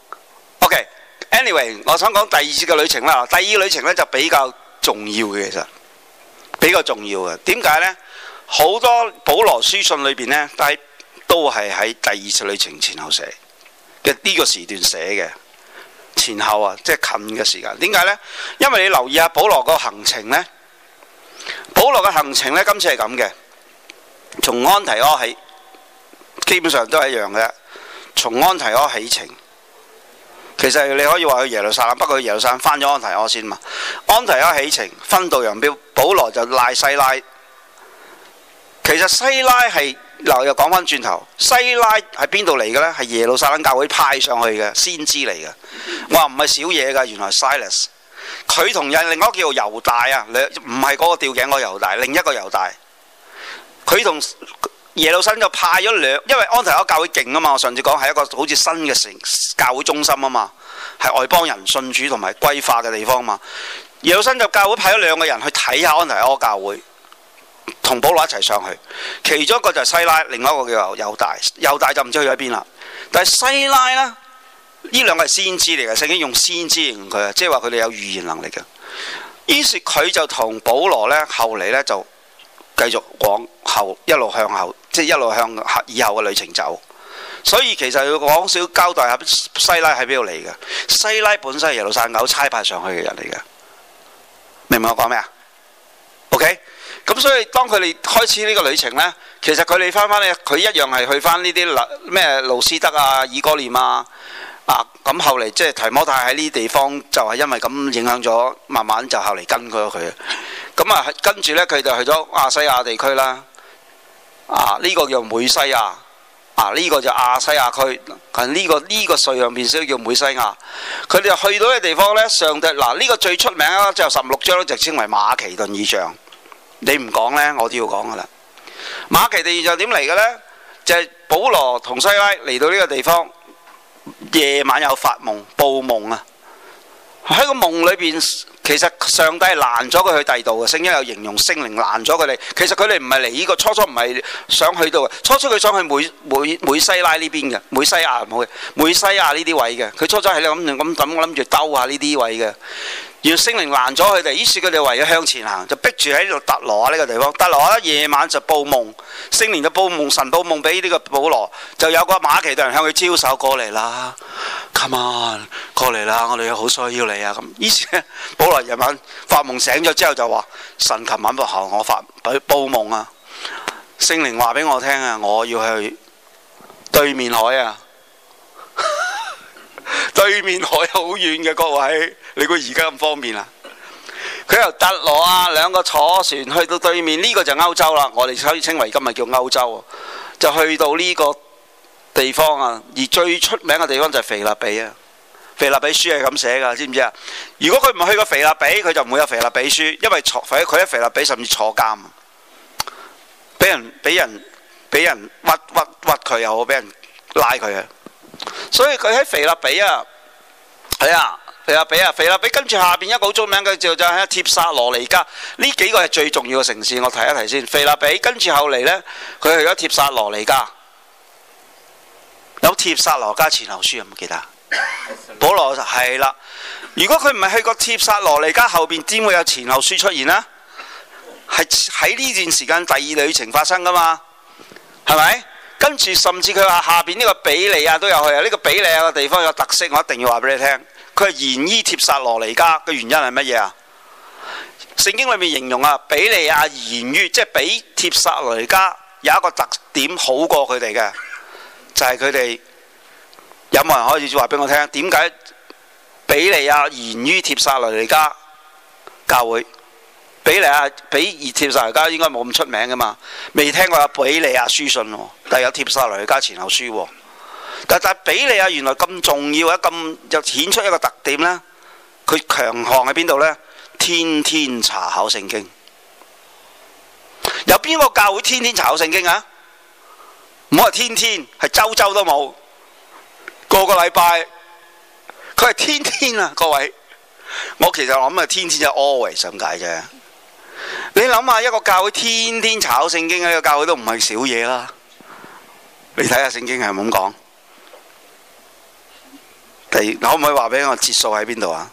OK。Anyway， 我想講第二次嘅旅程啦。第二旅程咧就比較重要嘅，其實比較重要嘅。點解呢？好多保羅書信裏邊呢，都係喺第二次旅程前後寫嘅，呢個時段寫嘅前後啊，即係近嘅時間。點解呢？因為你留意下保羅個行程呢，保羅嘅行程呢，今次係咁嘅，從安提阿起，基本上都係一樣嘅。從安提阿起程，其實你可以話去耶路撒冷，不過去耶路撒冷翻咗安提阿先嘛。安提阿起程，分道揚鑣，保羅就賴西拉。其實西拉係嗱，又講翻轉頭，西拉係邊度嚟嘅呢？係耶路撒冷教會派上去嘅先知嚟嘅。我話唔係少嘢㗎，原來 Silas 佢同另外一個叫猶大啊，唔係嗰個吊頸嗰個猶大，另一個猶大，佢同耶路撒冷就派咗因為安提阿教會勁啊嘛，我上次講係一個好似新嘅教會中心啊嘛，係外邦人信主同埋歸化嘅地方嘛。耶路撒冷就教會派咗2個人去睇下安提阿教會，同保羅一齊上去。其中一個就係西拉，另外一個叫猶大。猶大就唔知去咗邊啦。但係西拉呢，呢2個係先知嚟嘅，聖經用先知形容佢啊，即係話佢哋有預言能力嘅。於是佢就同保羅呢，後嚟呢就繼續往後一路向後，即係一路向以後嘅旅程走。所以其實要講少交代下西拉喺邊度嚟嘅。西拉本身係耶路撒冷差派上去嘅人嚟嘅，明唔明我講咩啊 ？OK， 咁所以當佢哋開始呢個旅程呢，其實佢哋翻嚟，佢一樣係去翻呢啲咩路斯德啊、以哥念啊。咁後嚟即係提摩太喺呢啲地方就係因為咁影響咗，慢慢就後嚟跟咗佢。咁跟住呢，佢就去咗亞西亞地區啦。 呢個叫美西亞，呢個就亞西亞區，呢個瑞上面先叫美西亞。佢哋就去到嘅地方呢，上帝呢個最出名啦，就16章就稱為馬其頓異象。你唔講呢，我都要講噶啦。馬其頓異象點嚟嘅呢？就係保羅同西拉嚟到呢個地方，夜晚有發夢，報夢啊！喺個夢裏邊，其實上帝係攔咗佢去第二度嘅。聖經有形容聖靈攔咗佢哋。其實佢哋唔係嚟呢個，初唔係想去到嘅。初佢想去美西拉呢邊嘅，美西亞唔好嘅，美西亞呢啲位嘅。佢初係諗住兜下呢啲位嘅。原來聖靈攔咗佢哋，於是佢哋唯有向前行，就逼住喺呢度特羅亞呢個地方。特羅亞夜晚就報夢，聖靈就報夢，神報夢俾呢個保羅，就有個馬其頓人向佢招手過嚟啦 ，come on 過嚟啦，我哋好需要你啊咁。於是咧，保羅夜晚發夢醒咗之後就話：神琴晚後我報夢啊，聖靈話俾我聽啊，我要去對面海啊。對面海好遠嘅，各位，你估而家咁方便啊？佢由特羅亞兩個坐船去到對面，呢個就歐洲啦。我哋可以稱為今日叫歐洲，就去到呢個地方啊。而最出名嘅地方就係腓立比啊。腓立比書係咁寫㗎，知唔知啊？如果佢唔去過腓立比，佢就唔會有腓立比書，因為佢喺腓立比甚至坐監，俾人屈佢又好，俾人拉佢啊。所以佢喺腓立比啊，係啊，腓立比跟住下邊一個好出名嘅就係帖撒羅尼迦。呢幾個係最重要嘅城市，我提一提先。腓立比跟住後嚟呢，佢去咗帖撒羅尼迦，有帖撒羅尼迦前後書有冇記得？保羅係啦。如果佢唔係去過帖撒羅尼迦後邊，點會有前後書出現呢？係喺呢段時間第二旅程發生噶嘛？係咪？跟住甚至佢話下邊呢個比利亞都有去啊！呢個比利亞嘅地方有特色，我一定要話俾你聽。佢係延於帖撒羅尼迦嘅原因係乜嘢啊？聖經裏面形容啊，比利亞延於，即係比帖撒羅尼迦有一個特點好過佢哋嘅，就係佢哋有冇人可以話俾我聽？點解比利亞延於帖撒羅尼迦教會？比利亞比帖撒羅尼迦應該冇咁出名噶嘛？未聽過有比利亞書信喎，但係有帖撒羅尼迦前後書喎。但比利亞原來咁重要啊，咁就顯出一個特點呢。佢強項喺邊度呢？天天查考聖經。有邊個教會天天查考聖經啊？唔好話天天，係周周都冇，個禮拜。佢係天天啊，各位。我其實諗啊，天天就 always 咁解啫。你諗下，一個教會天天查考聖經，呢個教會都唔係少嘢啦。你睇下聖經係咁講。可唔可以話俾我節數喺邊度啊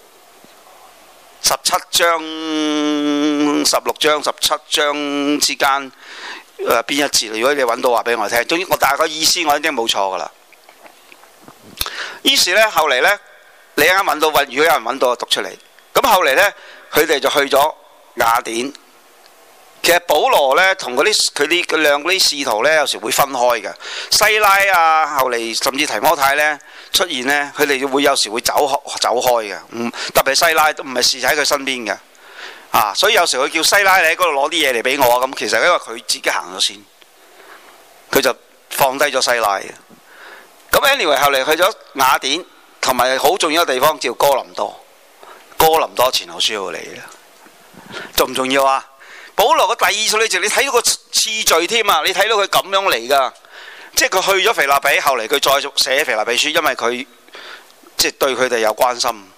？17章、16章、17章之間邊一節？如果你揾到話俾我聽，總之我大概意思我一定冇錯噶啦。於是呢，後嚟呢，你啱揾到，如果有人揾到，就讀出嚟。咁後嚟呢，佢哋就去咗雅典。其實保羅呢，同佢兩啲使徒呢，有時會分開嘅。西拉啊，後嚟甚至提摩太呢出現呢，佢哋會有時會走開嘅。特別西拉都唔係侍喺佢身邊嘅。所以有時佢叫西拉，你喺嗰度攞啲嘢嚟俾我啊。咁其實因為佢自己行咗先，佢就放低咗西拉嘅。咁 anyway 後嚟去咗雅典，同埋好重要嘅地方叫哥林多。哥林多前後書嚟嘅，重唔重要啊？保羅嘅第二次旅程，你睇到個次序添啊！你睇到佢咁樣嚟噶，即係佢去咗腓立比，後嚟佢再寫腓立比書，因為佢即係對佢哋有關心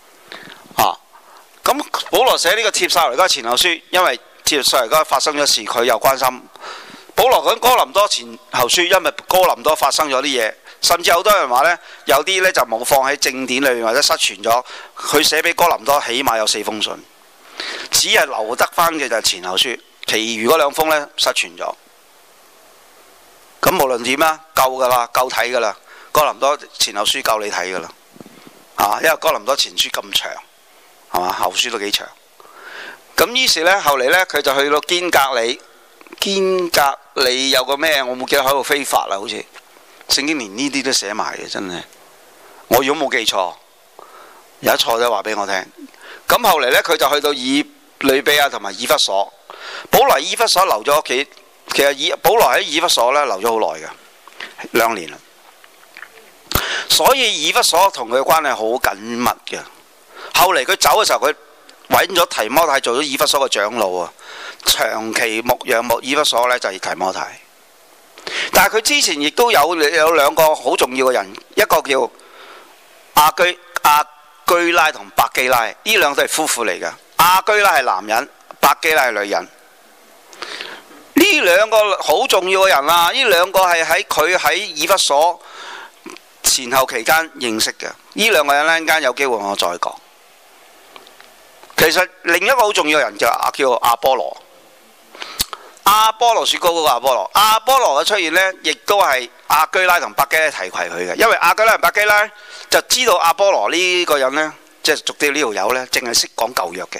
咁保羅寫呢個帖撒羅尼迦前後書，因為帖撒羅尼迦發生咗事，佢有關心。保羅講哥林多前後書，因為哥林多發生咗啲嘢，甚至好多人話呢，有啲呢就冇放喺正典裏面或者失傳咗。佢寫俾哥林多起碼有4封信。只係留得翻嘅就係前後書，其餘嗰2封呢失傳咗。咁無論點啦，夠噶啦，夠睇噶啦。哥林多前後書夠你睇噶啦，因為哥林多前書咁長，係嘛，後書都幾長。咁於是呢，後嚟呢，佢就去到堅格里。堅格里有個咩？我冇記得喺度非法啦，好似聖經連呢啲都寫埋嘅，真係。我如果冇記錯，有一錯就話俾我聽。咁後嚟呢，佢就去到以呂比亞同埋以弗所。保羅以弗所留咗屋企， 其實保羅喺以弗所咧留咗好耐嘅，2年啦。所以以弗所同佢嘅關係好緊密嘅。後嚟佢走嘅時候，佢揾咗提摩太做咗以弗所嘅長老啊，長期牧養以弗所咧就係提摩太。但係佢之前亦都有兩個好重要嘅人，一個叫亞居拉同百基拉，呢兩對係夫婦嚟嘅。亞居拉係男人，百基拉係女人。呢兩個好重要嘅人啊！呢兩個係佢喺以弗所前後期間認識嘅。呢兩個人呢，陣間有機會我再講。其實另一個好重要嘅人就叫亞波羅。亞波羅雪糕嗰個亞波羅嘅出現呢，亦都係亞居拉同百基拉提攜佢嘅。因為亞居拉同百基拉就知道亞波羅呢個人呢，即係俗啲呢條友呢，淨係識講舊約嘅。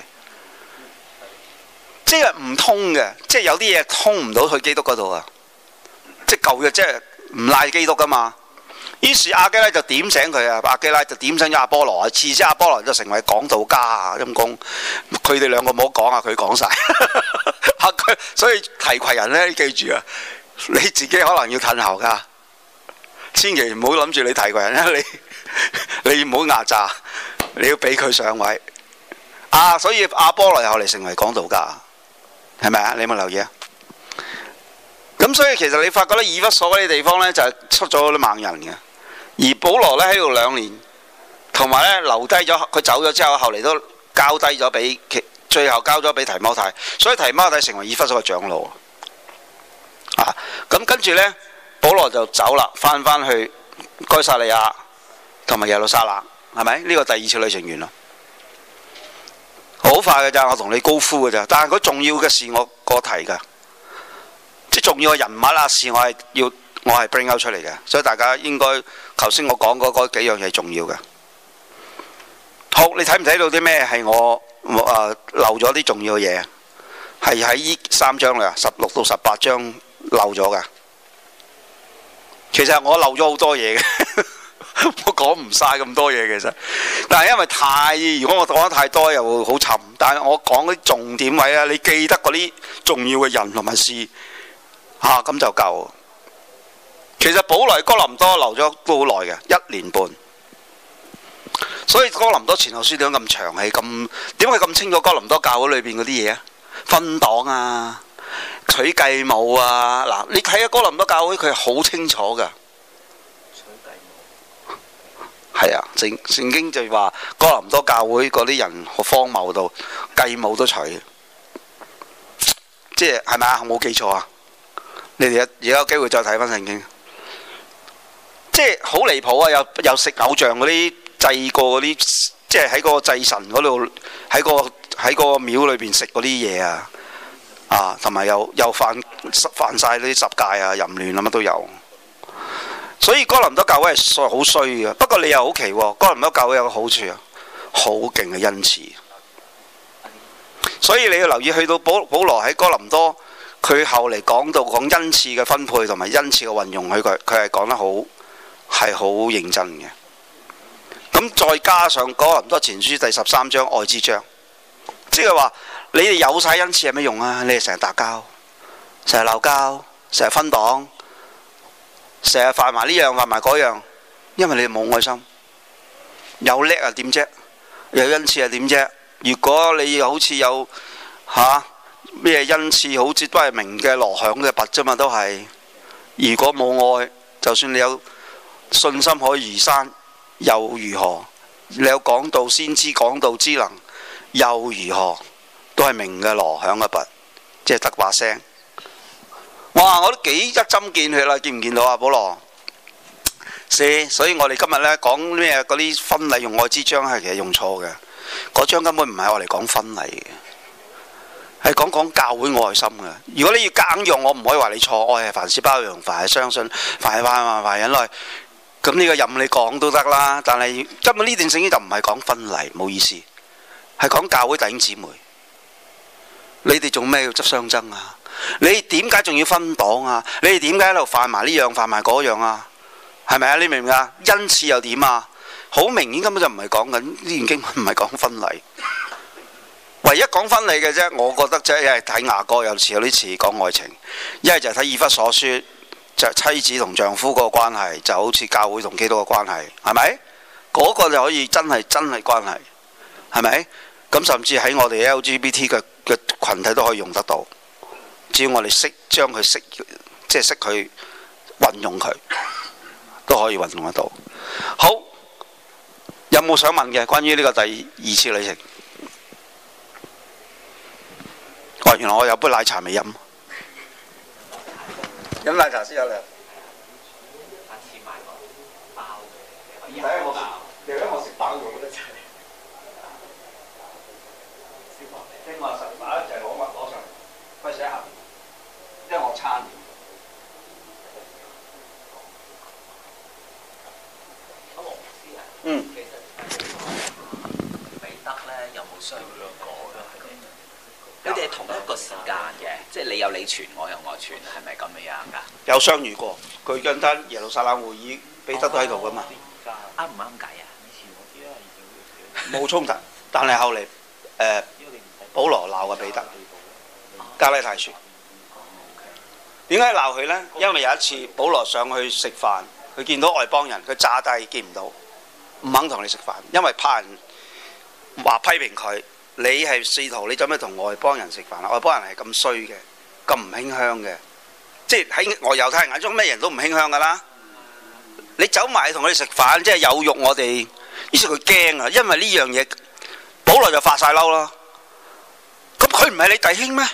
即係唔通嘅，即係有啲嘢通唔到去基督嗰度啊！即係舊約，即係唔賴基督噶嘛。於是亞基拉就點醒佢啊，亞基拉就點醒咗亞波羅啊，次之亞波羅就成為講道家啊，陰公。佢哋兩個唔好講啊，佢講晒。所以提攜人呢，你記住啊，你自己可能要褪後噶，千祈唔好諗住你提攜人啊，你唔好壓榨，你要俾佢上位啊。所以亞波羅又後嚟成為講道家。係咪啊？你有冇留意啊？咁所以其實你發覺咧，以弗所嗰啲地方咧就係出咗啲猛人嘅，而保羅咧喺度2年，同埋咧留低咗佢走咗之後，後嚟都交低咗俾最後交咗俾提摩太，所以提摩太成為以弗所嘅長老啊。咁跟住咧，保羅就走啦，翻去該撒利亞同埋耶路撒冷，係咪？呢個第2次旅程完啦。好快嘅咋，我同你高呼嘅咋。但係佢重要嘅事我提㗎，即係重要嘅人物啊事，我係 bring out 出嚟嘅。所以大家應該頭先我講嗰幾樣嘢重要嘅。好，你睇唔睇到啲咩係我漏咗啲重要嘅嘢？係喺呢3章啦，16到18章漏咗㗎。其實我漏咗好多嘢嘅。我講唔晒咁多嘢其實，但係因為如果我講得太多又會好沉。但係我講啲重點位啊，你記得嗰啲重要嘅人同埋事咁就夠。其實保羅喺哥林多留咗都好耐嘅，1年半。所以哥林多前後書點解咁長氣？點解咁清楚哥林多教會裏邊嗰啲嘢啊？分黨啊，取繼母啊，嗱，你睇下哥林多教會佢係好清楚㗎。係啊，聖經就話哥林多教會嗰啲人好荒謬到繼母都娶，即係咪啊？我冇記錯啊！你哋而家有機會再睇翻聖經，即係好離譜啊！又食偶像嗰啲祭過嗰啲，即係喺個祭神嗰度喺個廟裏邊食嗰啲嘢啊！同埋又犯晒啲十戒啊、淫亂啊乜都有。所以哥林多教會係好衰嘅，不過你又好奇喎，哥林多教會有個好處啊，好勁嘅恩賜。所以你要留意，去到保羅喺哥林多，佢後嚟講恩賜嘅分配同埋恩賜嘅運用，佢係講得係好認真嘅。咁再加上哥林多前書第13章愛之章，即係話你哋有晒恩賜有咩用啊？你哋成日打交，成日鬧交，成日分黨。成日犯埋呢樣犯埋嗰樣，因為你冇愛心。有叻啊點啫？有恩賜啊點啫？如果你好似有咩恩賜，好似都係鳴嘅鑼響嘅拔啫嘛，都係。如果冇愛，就算你有信心可以移山，又如何？你有講道先知講道之能，又如何？都係鳴嘅鑼響嘅拔，即係得把聲。哇！我都幾一針見血啦，見唔見到啊？保羅，所以我哋今日呢講咩嗰啲婚禮用愛之章係其實用錯嘅，嗰章根本唔係我哋講婚禮嘅，係講教會愛心嘅。如果你要夾硬用，我唔可以話你錯，愛係凡事包容，凡係相信，凡係萬忍耐。咁呢個任你講都得啦，但係根本呢段聖經就唔係講婚禮，冇意思，係講教會弟兄姊妹。你哋做咩要執相爭啊？你點解仲要分黨啊？你哋點解喺度犯埋呢樣犯埋嗰樣啊？係咪啊？你明唔明啊？恩賜又點啊？好明顯根本就唔係講緊呢段經文，唔係講婚禮。 唯一講分離嘅啫，我覺得即係睇雅歌有啲似講愛情，一係就係睇以弗所書，就係妻子同丈夫嗰個關係，就好似教會同基督嘅關係，係咪？嗰個就可以真係關係，係咪？咁甚至喺我哋 LGBT 嘅群體都可以用得到，只要我哋識將佢識佢運用佢，都可以運用得到。好，有冇想問嘅關於呢個第二次旅程？哦，原來我有杯奶茶未飲，飲奶茶先有啦。下次買個包嘅，你睇我食包咗得滯。聽話實打就係攞上嚟，費事喺下邊，因為我撐。嗯。其實彼得咧有冇相遇過咧？你哋係同一個時間嘅，即係你有你傳，我有我傳，係咪咁樣㗎？有相遇過，佢跟單耶路撒冷會議，彼得都喺度㗎嘛。啱唔啱計啊？冇衝突，但係後嚟保羅鬧個彼得，加拉太書。點解鬧佢呢？因為有一次保羅上去食飯，佢見到外邦人，佢詐低見唔到，唔肯同你食飯，因為怕人話批評佢。你係使徒，你做咩同外邦人食飯啊？外邦人係咁衰嘅，咁唔馨香嘅，即係喺我猶太人眼中，咩人都唔馨香噶啦。你走埋同佢哋食飯，即係有辱我哋。於是佢驚啊，因為呢樣嘢，保羅就發晒嬲啦。咁佢唔係你弟兄咩？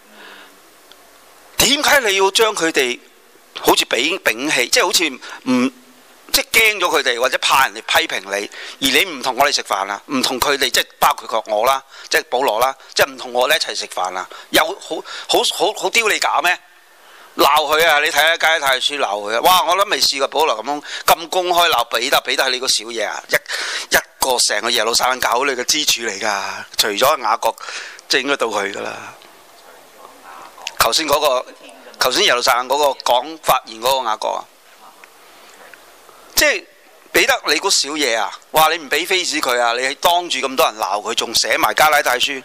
點解你要將佢哋好似摒棄，即係好似唔即係驚咗佢哋，或者怕人哋批評你，而你唔同我哋食飯啦，唔同佢哋，即係包括我啦，即係保羅啦，即係唔同我哋一齊食飯啦，有好丟你架咩？鬧佢啊！你睇下加拉太書鬧佢啊！哇！我諗未試過保羅咁公開鬧彼得，彼得係你個小嘢啊！一個成個耶路撒冷教會你嘅支柱嚟㗎，除咗雅各，即係應該到佢㗎啦。頭先耶路撒冷嗰個講發言嗰個雅各啊，即係彼得你個小嘢啊！哇！你唔俾 face 佢啊！你係當住咁多人鬧佢，仲寫埋加拉太書。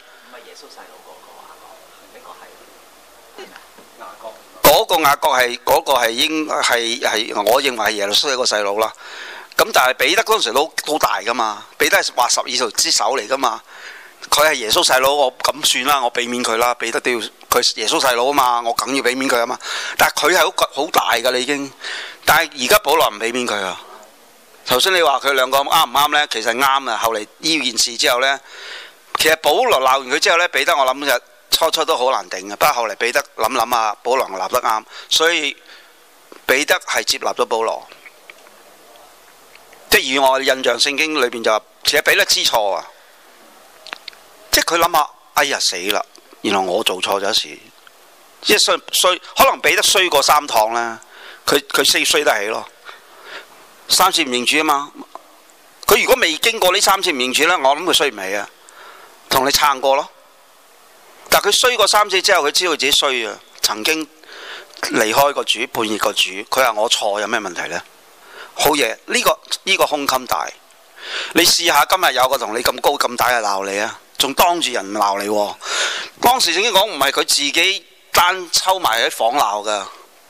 嗰個雅各係嗰個係應係我認為係耶路蘇一個細佬啦。咁但係彼得嗰陣時都好大噶嘛，彼得係話12條之首嚟噶嘛。佢係耶穌細佬，我咁算啦，我俾面佢啦。彼得都要佢耶穌細佬啊嘛，我梗要俾面佢啊嘛。但係佢係好大噶啦已經。但係而家保羅唔俾面佢啊。頭先你話佢兩個啱唔啱呢？其實啱啊。後嚟呢件事之後呢，其實保羅鬧完佢之後呢，彼得我諗就。初都好難頂嘅，不過後嚟彼得諗啊，保羅立得啱，所以彼得係接納咗保羅。即係以我印象聖經裏邊就話，其實彼得知錯啊，即係佢諗下，哎呀死啦，原來我做錯咗事，即係衰，可能彼得衰過3趟啦，佢衰得起咯，3次唔認主啊嘛，佢如果未經過呢3次唔認主呢，我諗佢衰唔起啊，同你撐過咯。但佢衰過3次之後，佢知道自己衰啊！曾經離開個主，叛逆個主，佢話我錯，有咩問題呢？好嘢，呢個胸襟大。你試下今日有個同你咁高咁大嘅鬧你啊，仲當住人鬧你喎。當時正經講唔係佢自己單抽埋喺房鬧㗎，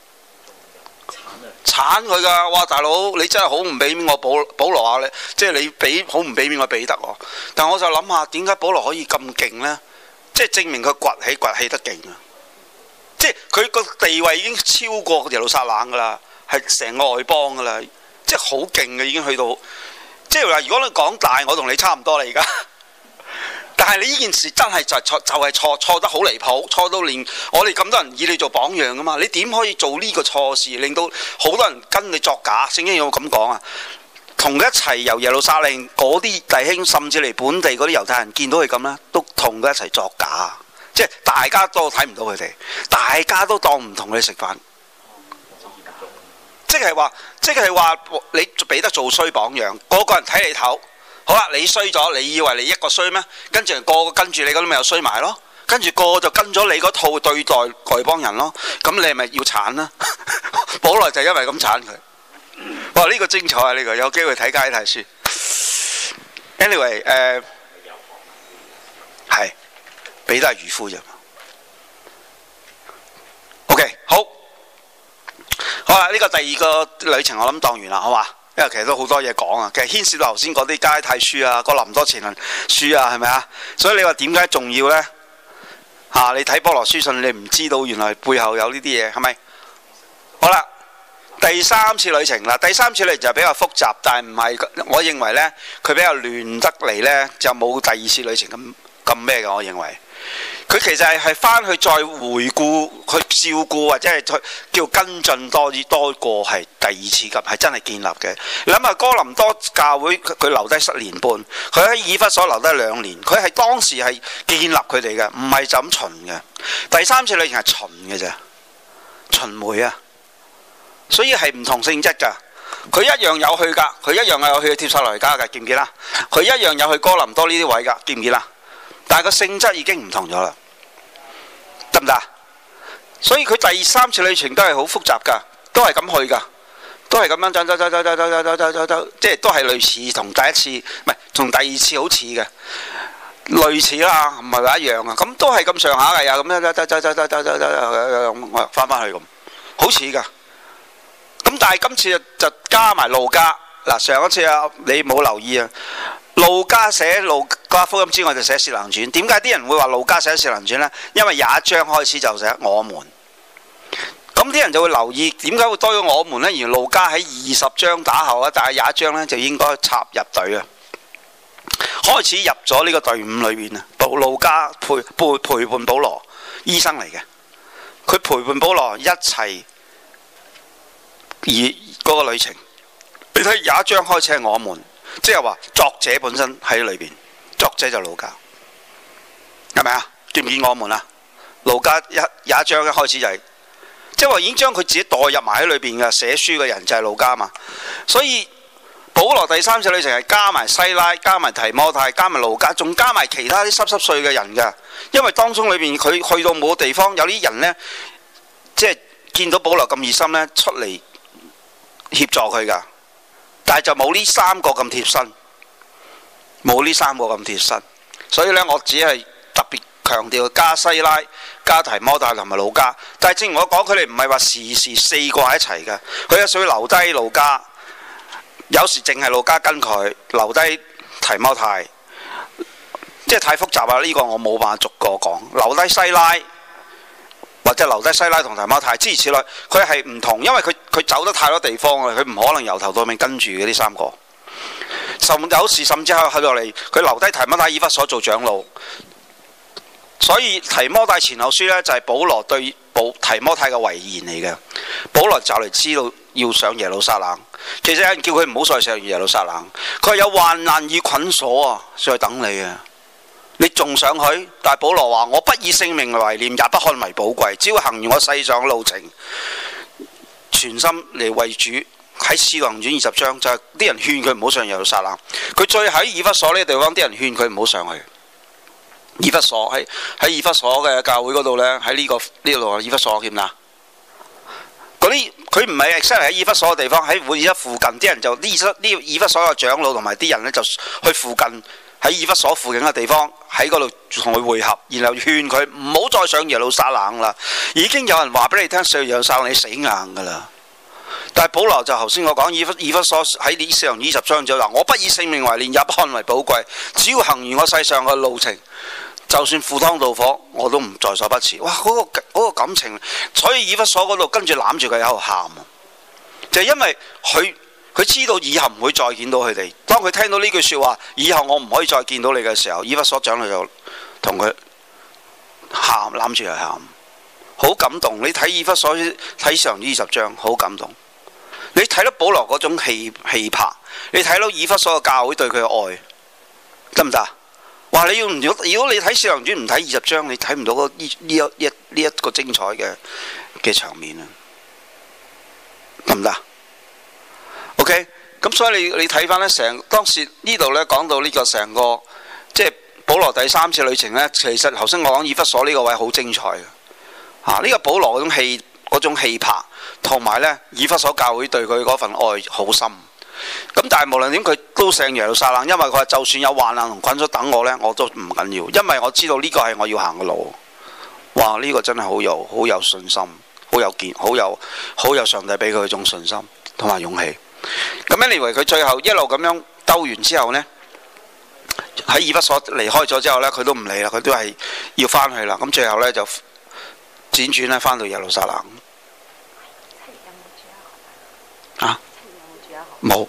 鏟佢㗎！哇，大佬你真係好唔俾面我保羅啊！你即係你好唔俾面我彼得喎。但我就諗下點解保羅可以咁勁呢？即係證明佢崛起得勁啊！即係佢個地位已經超過耶路撒冷噶啦，係成個外邦噶啦，即係好勁嘅已經去到。即係話如果你講大，我同你差唔多啦而家。但係你呢件事真係就係錯得好離譜，錯到連我哋咁多人以你做榜樣噶嘛？你點可以做呢個錯事，令到好多人跟你作假？聖經有冇咁講啊？同佢一齊由耶路撒冷嗰啲弟兄，甚至嚟本地嗰啲猶太人見到佢咁啦，都同佢一齊作假，即係大家都睇唔到佢哋，大家都當唔同佢食飯，即係話你俾得做衰榜樣，個個人睇你頭，好啦，你衰咗，你以為你一個衰咩？跟住個個跟住你嗰啲咪又衰埋咯，跟住個個就跟咗你嗰套對待外邦人咯，咁你係咪要鏟啦？保羅就因為咁鏟佢。哇！呢個精彩啊！呢個有機會睇加拉太書。Anyway，係彼得係漁夫啫。OK， 好啦，呢個第二個旅程我諗當完啦，好嘛？因為其實都好多嘢講啊，其實牽涉到頭先嗰啲加拉太書啊、哥林多前書啊，係咪啊？所以你話點解重要呢？你睇波羅書信，你唔知道原來背後有呢啲嘢，係咪？好啦，第三次旅程啦，第三次旅程就比較複雜，但係唔係，我認為呢，佢比較亂得嚟呢，就冇第二次旅程咁咩嘅，我認為。佢其實係翻去再回顧、去照顧或者係叫跟進多過係第二次級，係真係建立嘅。你諗下哥林多教會佢留低7年半，佢喺以弗所留低2年，佢係當時係建立佢哋嘅，唔係就咁巡嘅。第三次旅程係巡嘅啫，巡迴啊，所以係唔同性質㗎。佢一樣有去㗎，佢一樣有去帖撒羅尼迦㗎，記唔記啦？佢一樣有去哥林多呢啲位㗎，記唔記啦？但係個性質已經唔同咗啦，得唔得？所以佢第三次旅程都係好複雜㗎，都係咁去㗎，都係咁樣走，即係都係類似同第一次，唔係同第二次好似嘅，類似啦，唔係話一樣啊。咁都係咁上下嘅，又咁樣翻去咁，好似㗎。咁但係今次就加埋路加嗱，上一次啊你冇留意啊。路加寫路加福音之外就寫使徒行傳，點解啲人會話路加寫使徒行傳呢？因為廿一章開始就寫我們，咁啲人就會留意點解會多咗我們呢？而路加喺20章打後啊，但係廿一章呢就應該插入隊啊，開始入咗呢個隊伍裏面啊。路加陪伴保羅，醫生嚟嘅，佢陪伴保羅一齊而嗰個旅程。你睇廿一章開始係我們。即係話作者本身喺裏邊，作者就路加，係咪啊？見唔見我們啊？路加廿一章一開始就係，即係話已經將佢自己代入埋喺裏邊嘅，寫書嘅人就係路加嘛。所以保羅第三次旅程係加埋西拉、加埋提摩太、加埋路加，仲加埋其他啲濕碎嘅人㗎。因為當中裏邊佢去到冇個地方，有啲人呢，即係見到保羅咁熱心呢，出嚟協助佢㗎。但係就冇呢3個咁貼身，冇呢3個咁貼身，所以呢，我只係特別強調加西拉、加提摩太同埋路加。但係正如我講，佢哋唔係話時4個喺一齊嘅，佢有時會留低路加，有時淨係路加跟佢留低提摩太，即係太複雜啦。呢個我冇辦法逐個講，留低西拉。或者留低西拉同提摩太，諸如此類，佢係唔同，因為佢走得太多地方啦，佢唔可能由頭到尾跟住嘅呢3個。有時甚至去落嚟，佢留低提摩太以弗所做長老。所以提摩太前後書呢，就係保羅對提摩太嘅遺言嚟嘅。保羅就嚟知道要上耶路撒冷，其實有人叫佢唔好再上耶路撒冷，佢話有患難與捆鎖啊，在等你啊。你仲想去？但係保羅話：我不以性命為念，也不看為寶貴，只要行完我世上嘅路程，全心嚟為主。喺使徒行傳20章就係啲人勸佢唔好上耶路撒冷。佢再喺以弗所呢個地方，啲人勸佢唔好上去。以弗所喺以弗所嘅教會嗰度呢，喺呢度以弗所見唔見啊？嗰啲佢唔係 exactly 喺以弗所嘅地方，喺會一附近啲人就呢以弗所嘅長老同埋啲人呢，就去附近。喺以弗所附近嘅地方，喺嗰度同佢會合，然後勸佢唔好再上耶路撒冷啦。已經有人話俾你聽，上耶路撒冷你死硬㗎啦。但係保羅就頭先我講以弗所喺呢使徒行傳20章就話：我不以性命為念，也不看為寶貴，只要行完我世上嘅路程，就算赴湯蹈火，我都唔在所不辭。哇！嗰個感情，所以以弗所嗰度跟住攬住佢喺度喊，就係因為佢知道以後唔會再見到佢哋。當佢聽到呢句説話，以後我唔可以再見到你嘅時候，以弗所長老就同佢喊，攬住佢喊，好感動。你睇以弗所睇上20章，好感動。你睇到保羅嗰種氣魄，你睇到以弗所嘅教會對佢嘅愛，得唔得？哇！如果你睇使徒行傳唔睇20章，你睇唔到呢一個精彩嘅場面啊，得唔得？OK， 咁所以你睇翻呢，當時呢度呢講到呢個成個即係保羅第三次旅程呢，其實頭先我講以弗所呢個位好精彩嘅，呢個保羅嗰種氣魄，同埋呢以弗所教會對佢嗰份愛好深， 咁但係無論點佢都上耶路撒冷，因為佢話就算有患難同困苦等我呢，我都唔緊要，因為我知道呢個係我要行嘅路。哇！呢個真係好有信心，好有上帝俾佢嗰種信心同埋勇氣。咁樣以為佢最後一路咁樣兜完之後呢，喺以弗所離開咗之後呢，佢都唔理啦，佢都係要翻去啦。咁最後呢，就輾轉咧翻到耶路撒冷。冇。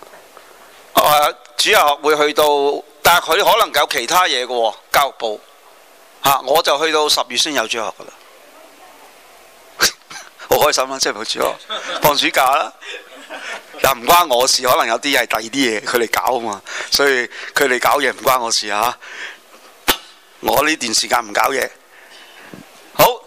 主日學會去到，但係佢可能有其他嘢嘅喎，教育部。我就去到10月先有主日學噶啦，好開心啦！即係冇主日學，放暑假啦，又唔關我事，可能有啲係第二啲嘢佢哋搞啊嘛，所以佢哋搞嘢唔關我事嚇。我呢段時間唔搞嘢，好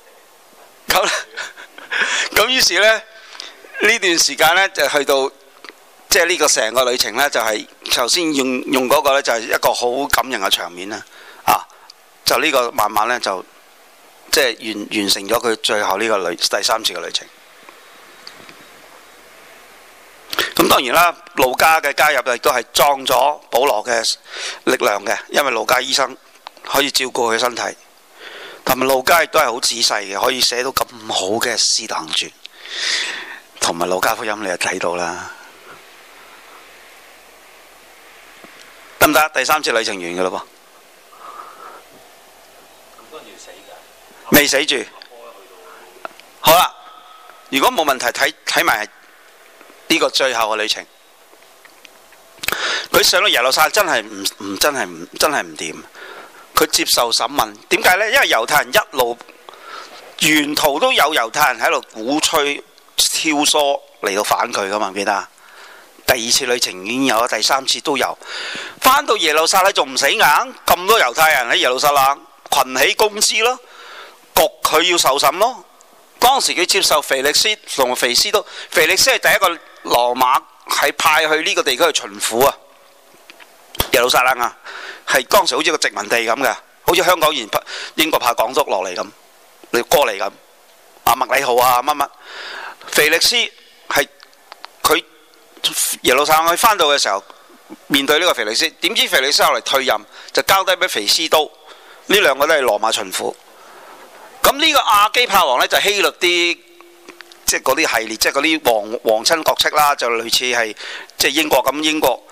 咁於是呢，呢段時間呢，就去到即係呢個成個旅程呢，就係頭先用嗰個呢，就係一個好感人嘅場面啦。就呢個慢慢呢，就即係完成咗佢最後呢個第3次嘅旅程。咁當然啦，路加嘅加入亦都係壯咗保羅嘅力量嘅，因為路加醫生可以照顧佢身體，同埋路加亦都係好仔細嘅，可以寫到咁好嘅《使徒行傳》同埋《路加福音》，你就睇到啦。得唔得？第3次旅程完嘅咯噃。未死住，好啦。如果冇問題，睇埋呢個最後嘅旅程。佢上到耶路撒冷真係唔掂。佢接受審問，點解呢？因為猶太人一路沿途都有猶太人喺度鼓吹挑唆嚟到反佢噶嘛，記得？第2次旅程已經有，第3次都有。翻到耶路撒冷仲唔死硬？咁多猶太人喺耶路撒冷群起攻之咯。焗佢要受審咯。當時佢接受腓力斯同腓斯都，腓力斯係第一個羅馬係派去呢個地區去巡撫啊，耶路撒冷啊，係當時好似個殖民地咁嘅，好似香港英國派港督落嚟咁，你過嚟咁。麥理浩啊乜乜，腓力斯係佢耶路撒冷佢翻到嘅時候，面對呢個腓力斯，點知腓力斯後嚟退任，就交低俾腓斯都，呢兩個都係羅馬巡撫。咁呢個亞基帕王呢，就希律啲，即係嗰啲系列，即係嗰啲皇親國戚啦，就類似係即係英國咁，英國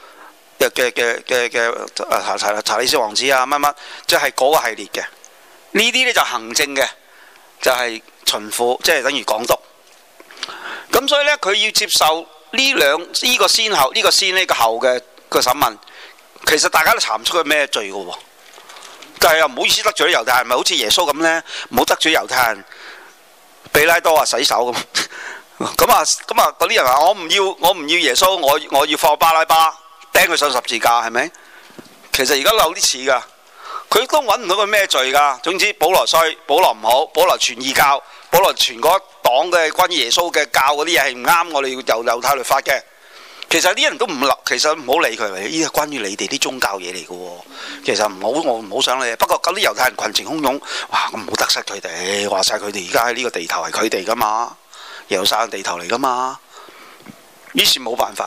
嘅查理斯王子啊乜乜，即係嗰個系列嘅。呢啲呢，就行政嘅，就係巡撫，即係等於港督。咁所以呢，佢要接受呢個先後，呢個先呢個後嘅個審問，其實大家都查唔出佢咩罪嘅喎。但係又唔好意思得罪啲猶太人，咪好似耶穌咁呢？唔好得罪猶太人。比拉多洗手咁，咁啊嗰啲人話我唔要耶穌，我要放巴拉巴釘佢上十字架，係咪？其實而家有啲似㗎，佢都揾唔到佢咩罪㗎。總之保羅衰，保羅唔好，保羅傳異教，保羅傳嗰黨嘅關於耶穌嘅教嗰啲嘢係唔啱我哋猶太律法嘅。其實啲人都唔立，其實唔好理佢，呢啲係關於你哋啲宗教嘢嚟嘅喎。其實我唔好想理。不過嗰啲猶太人群情洶湧，哇！咁唔好得失佢哋，話晒佢哋而家喺呢個地頭係佢哋噶嘛，耶路撒冷地頭嚟噶嘛。於是冇辦法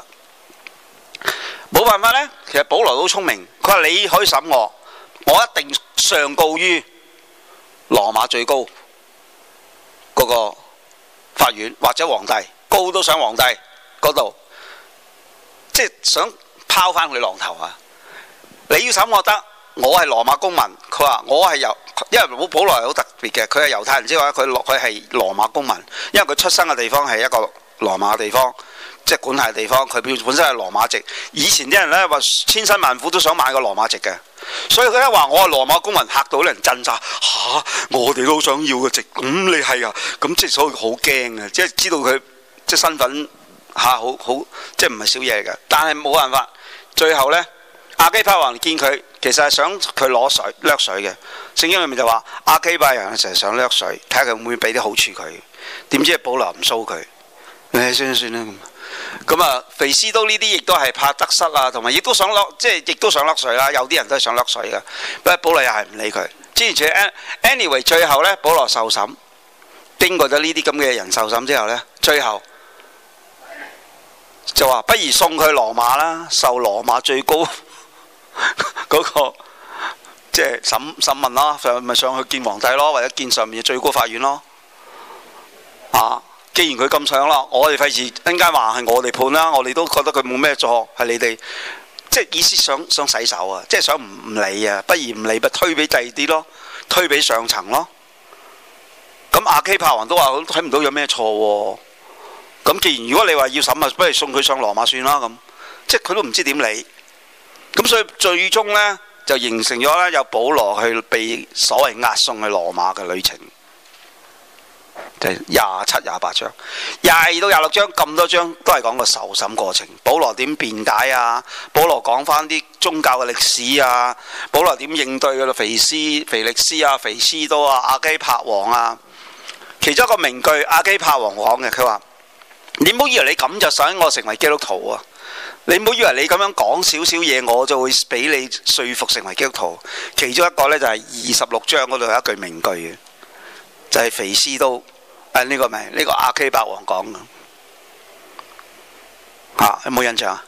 呢。其實保羅都聰明，佢話你可以審我，我一定上告於羅馬最高嗰個法院或者皇帝，告到上皇帝嗰度。即係想拋翻佢浪頭啊！你要審我得，我係羅馬公民。佢話我係因為保羅係好特別嘅，佢係猶太人之外，佢係羅馬公民，因為佢出生嘅地方係一個羅馬地方，即係管轄地方。佢本身係羅馬籍。以前啲人呢話千辛萬苦都想買個羅馬籍嘅，所以佢一話我係羅馬公民，嚇到啲人震晒嚇，我哋都想要個籍。你係啊？咁即係所以好驚啊！即係知道佢即係身份。好即係唔係少嘢嘅，但係冇辦法。最後呢，亞基帕王見佢，其實係想佢掠水嘅。聖經裏面就話亞基帕人成日想掠水，睇下佢會唔會俾啲好處佢。點知保羅唔騷佢，算啦咁啊。腓斯都呢啲亦都係怕得失啊，同埋亦都想亦都想掠水啦。有啲人都係想掠水嘅，不過保羅又係唔理佢。之前 anyway 最後呢，保羅受審，經過咗呢啲咁嘅人受審之後呢，最後就話不如送佢羅馬啦，受羅馬最高嗰個即係審問咯，咪上去見皇帝咯，或者見上面嘅最高法院咯。啊，既然佢咁想啦，我哋費事一陣間話係我哋判啦，我哋都覺得佢冇咩錯，係你哋即係意思想洗手啊，即係想唔理啊，不如唔理咪推俾第二啲咯，推俾上層咯。咁亞基帕王都話睇唔到有咩錯喎。咁既然如果你話要審啊，不如送佢上羅馬算啦咁，即係佢都唔知點理。咁所以最終呢，就形成咗呢，有保羅去被所謂押送去羅馬嘅旅程，就係27、28章，22到26章咁多章都係講個受審過程。保羅點辯解啊？保羅講翻啲宗教嘅歷史啊？保羅點應對嘅腓力斯啊、腓斯多啊、亞基帕王啊？其中一個名句，亞基帕王講嘅，佢話：你唔好以為你咁就想我成為基督徒啊！你唔好以為你咁樣講少少嘢，我就會俾你說服成為基督徒。其中一個呢，就係26章嗰度有一句名句嘅，就係腓斯都呢個名，呢個亞基帕王講嘅嚇，有冇印象啊？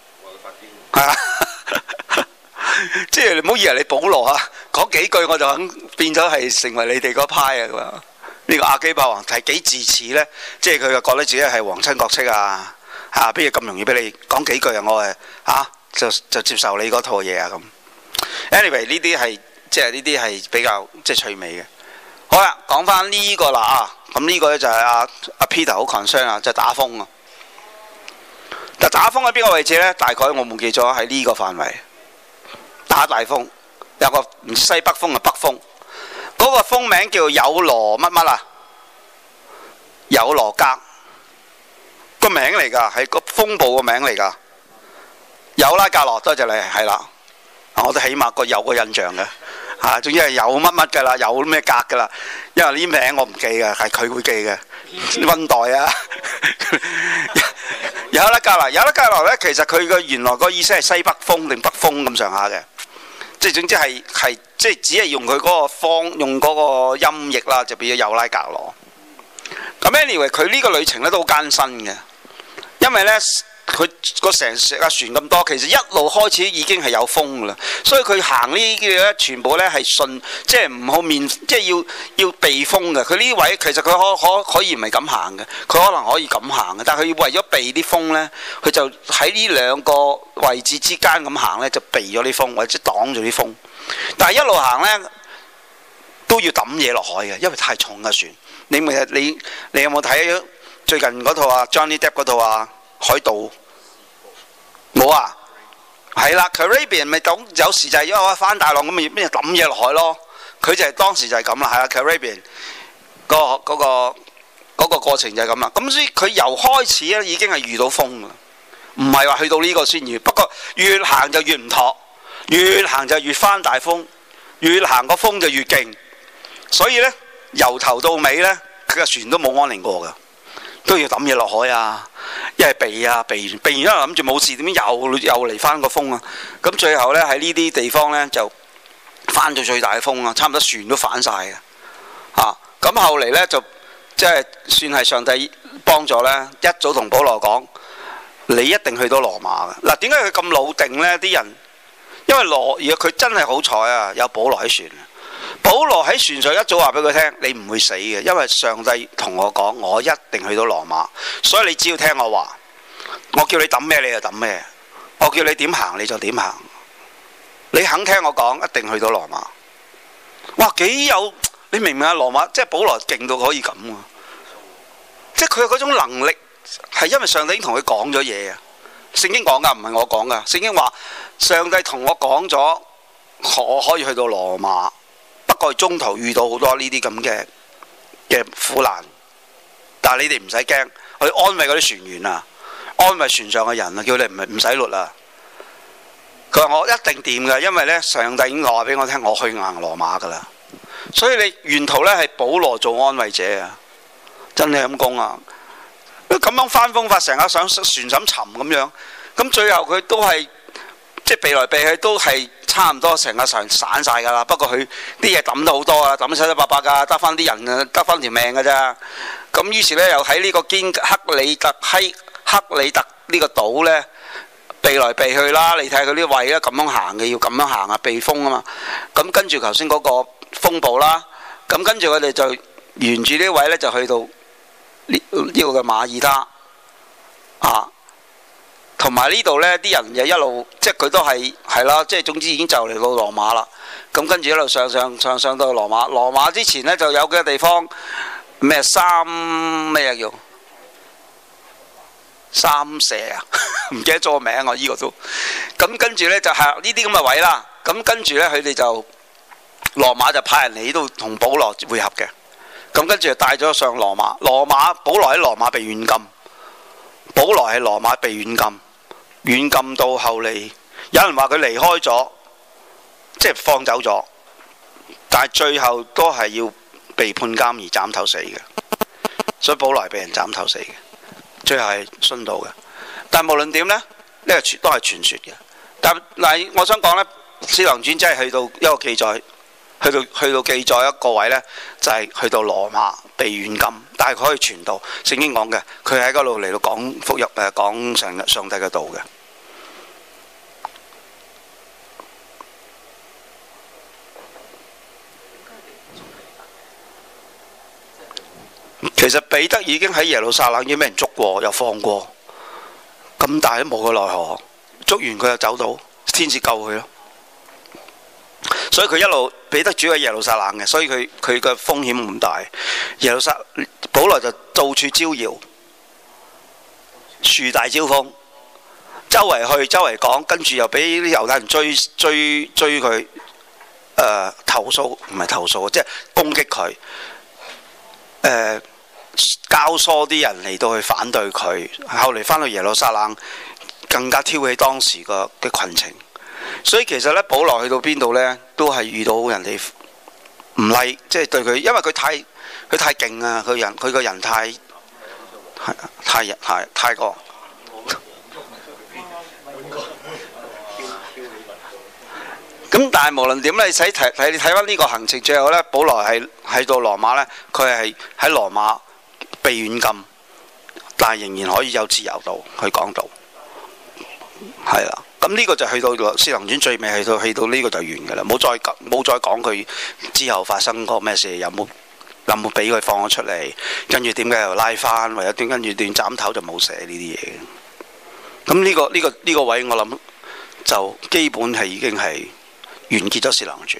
即係你唔好以為你保羅啊講幾句我就肯變咗係成為你哋嗰派啊咁樣。呢個亞基帕王係幾自恃呢？即係佢就覺得自己係皇親國戚啊！嚇，邊嘢咁容易俾你講幾句啊？我就接受你嗰套嘢啊咁。Anyway， 呢啲係即係呢啲係比較即係趣味嘅。好啦，講翻呢個啦啊！咁呢個咧就係阿 Peter 好 concern 啊，就係打風啊。但打風喺邊個位置呢？大概我冇記咗喺呢個範圍打大風，有個唔西北風嘅北風。嗰個風名叫有羅乜乜啊？有羅格個名嚟㗎，係個風暴個名嚟㗎。有拉格羅，多謝你，係啦。我都起碼個有個印象嘅嚇，總之係有乜乜㗎啦，有咩格㗎啦。因為呢名我唔記嘅，係佢會記嘅。溫黛啊，有拉格羅，有拉格羅咧，其實佢個原來個意思係西北風定北風咁上下嘅。即係總之係即係只係用佢嗰個方用嗰個音譯啦，就變咗有拉格羅。咁 anyway 佢呢個旅程咧都好艱辛嘅，因為咧佢個成架船咁多，其實一路開始已經係有風㗎啦，所以佢行呢啲嘢咧全部咧係順，即係唔好面，即係要避風嘅。佢呢位其實佢可以唔係咁行嘅，佢可能可以咁行嘅，但係佢為咗避啲風咧，佢就喺呢兩個位置之間咁行咧，就避咗啲風或者擋住啲風。但係一路行咧都要抌嘢落海嘅，因為太重嘅船。你有冇睇最近嗰套啊 Johnny Depp 嗰套啊海盜？冇啊，係啦 Caribbean 咪咁有時就係因為翻大浪咁咪咩抌嘢落海咯。佢就係當時就係咁啦，係啦 Caribbean 嗰個過程就係咁啦。咁所以佢由開始咧已經係遇到風啦，唔係話去到呢個先遇。不過越行就越唔妥，越行就越翻大風，越行個風就越勁。所以呢，由頭到尾呢，佢個船都冇安寧過㗎，都要抌嘢落海啊，一係避啊，避完因為諗住冇事，點解又嚟翻個風啊？咁最後呢，喺呢啲地方呢，就翻到最大嘅風啊，差唔多船都反晒嘅嚇。咁後嚟呢，就即係算係上帝幫助呢，一早同保羅講，你一定去到羅馬嘅。嗱，點解佢咁老定呢？啲人因為如果佢真係好彩啊，有保羅喺船。保羅喺船上一早話俾佢聽，你唔會死嘅，因為上帝同我講，我一定去到羅馬，所以你只要聽我話，我叫你抌咩你就抌咩，我叫你點行你就點行，你肯聽我講，一定去到羅馬。哇，幾有你明唔明啊？羅馬即係保羅勁到可以咁啊！即係佢有嗰種能力，係因為上帝已經同佢講咗嘢啊！聖經講噶，唔係我講噶。聖經話上帝同我講咗，我可以去到羅馬。不過中途遇到好多呢啲咁嘅苦難，但係你哋唔使驚，我哋安慰嗰啲船員啊，安慰船上嘅人啊，叫你唔使擸啦。佢話我一定掂㗎，因為呢，上帝已經話俾我聽，我去硬羅馬㗎啦。所以你沿途呢係保羅做安慰者啊，真係咁講啊！咁樣翻風法成日想船想沉咁樣，咁最後佢都係即係避來避去都係。差唔多成個船散晒㗎啦，不過佢啲嘢抌得好多啊，抌得七七八八㗎，得翻啲人啊，得翻條命㗎咋。咁於是呢，又喺呢個克里特呢個島呢，避來避去啦。你睇下佢啲位咧咁樣行嘅，要咁樣行啊，避風啊嘛。咁跟住頭先嗰個風暴啦，咁跟住佢哋就沿住呢位呢，就去到呢個嘅馬耳他啊。同埋呢度呢啲人又一路，即係佢都係啦，即係總之已經就嚟到羅馬啦。咁跟住一路上到羅馬。羅馬之前呢，就有幾個地方咩咩叫三蛇啊？唔記得咗個名啊！依個都咁跟住呢，就係呢啲咁嘅位啦。咁跟住呢，佢哋就羅馬就派人嚟呢度同保羅會合嘅。咁跟住就帶咗上羅馬。保羅喺羅馬被軟禁。保羅喺羅馬被軟禁。軟禁到後嚟，有人話佢離開咗，即係放走咗，但係最後都係要被判監而斬頭死嘅。所以保羅係被人斬頭死嘅，最後係殉道嘅。但係無論點呢，呢個都係傳說嘅。但係我想講呢，《使徒行傳》真係去到一個記載，去到記載一個位呢，就係去到羅馬被軟禁，但係佢可以傳道。聖經講嘅，佢喺嗰度嚟到講福音，講上帝嘅道嘅。其實彼得已經喺耶路撒冷已經俾人捉過，又放過，咁但係都無可奈何。捉完佢又走到，天使救佢咯。所以佢一路彼得主喺耶路撒冷嘅，所以佢嘅風險唔大。保羅就到處招搖，樹大招風，周圍去周圍講，跟住又俾啲猶太人追佢，投訴唔係投訴，即係攻擊佢，教唆啲人嚟到去反對佢。後嚟翻到耶路撒冷，更加挑起當時嘅群情。所以其實咧，保羅去到邊度呢，都係遇到人哋唔like，即係對佢，因為佢太勁啊！佢個人太過。咁但係無論點咧，你睇翻呢個行程，最後呢，保羅係喺到羅馬呢，佢係喺羅馬被軟禁，但係仍然可以有自由度去講道，係啦。咁呢個就去到《使徒行傳》最尾，去到呢個就完嘅啦，冇再講佢之後發生過咩事，有冇俾佢放咗出嚟，跟住點解又拉翻，或者跟住斷斬頭就冇寫呢啲嘢。咁呢個位我諗就基本係已經係完結咗《使徒行傳》。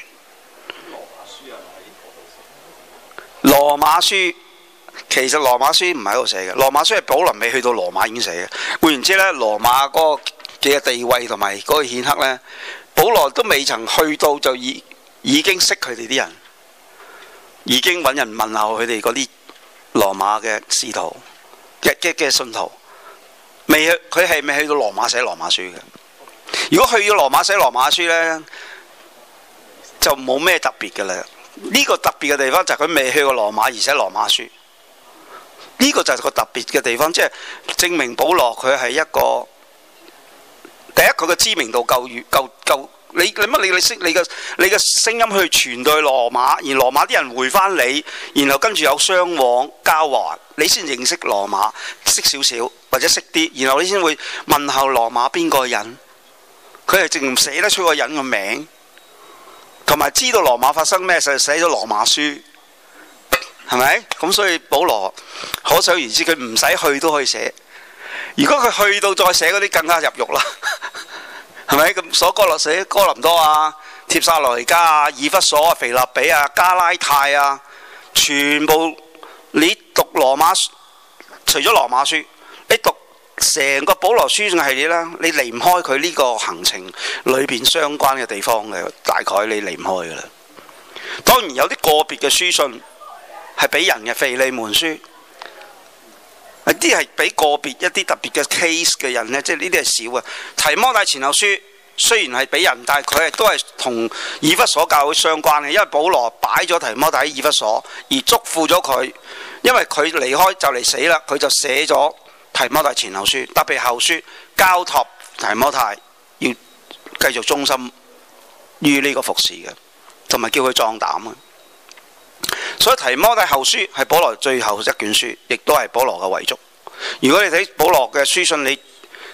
羅馬書其實羅馬書唔喺度寫嘅，羅馬書係保羅未去到羅馬已經寫嘅。換言之呢，羅馬嗰個嘅地位同埋嗰個顯赫呢，保羅都未曾去到就已經識佢哋啲人，已經揾人問候佢哋嗰啲羅馬嘅使徒嘅信徒，佢係未去到羅馬寫羅馬書嘅。如果去咗羅馬寫羅馬書呢，就冇咩特別嘅啦。呢個特別嘅地方就係佢未去過羅馬而寫羅馬書，呢個就係個特別嘅地方，即係證明保羅佢係一個。第一，佢嘅知名度夠，你嘅聲音去傳到去羅馬，而羅馬啲人回翻你，然後跟住有相往交還，你先認識羅馬，識少少或者識啲，然後你先會問候羅馬邊個人，佢係淨唔寫得出個人嘅名，同埋知道羅馬發生咩事，寫咗羅馬書，係咪？咁所以保羅可想而知，佢唔使去都可以寫。如果佢去到再寫嗰啲更加入獄啦，係咪？咁所哥寫哥林多啊、帖撒羅尼迦啊、以弗所啊、腓立比啊、加拉太啊，全部你讀羅馬，除咗羅馬書，你讀成個保羅書信系列啦，你離唔開佢呢個行程裏邊相關嘅地方嘅，大概你離唔開噶啦。當然有啲個別嘅書信係俾人嘅，腓利門書。啲係俾個別一啲特別嘅 case 嘅人呢，即係呢啲係少嘅。提摩太前後書雖然係俾人，但係佢都係同以弗所教會相關嘅，因為保羅擺咗提摩太喺以弗所，而囑咐咗佢，因為佢離開就嚟死啦，佢就寫咗提摩太前後書，特別後書交託提摩太要繼續忠心於呢個服侍嘅，同埋叫佢壯膽啊。所以提摩太後書係保羅最後一卷書，亦都係保羅嘅遺囑。如果你睇保羅嘅書信，你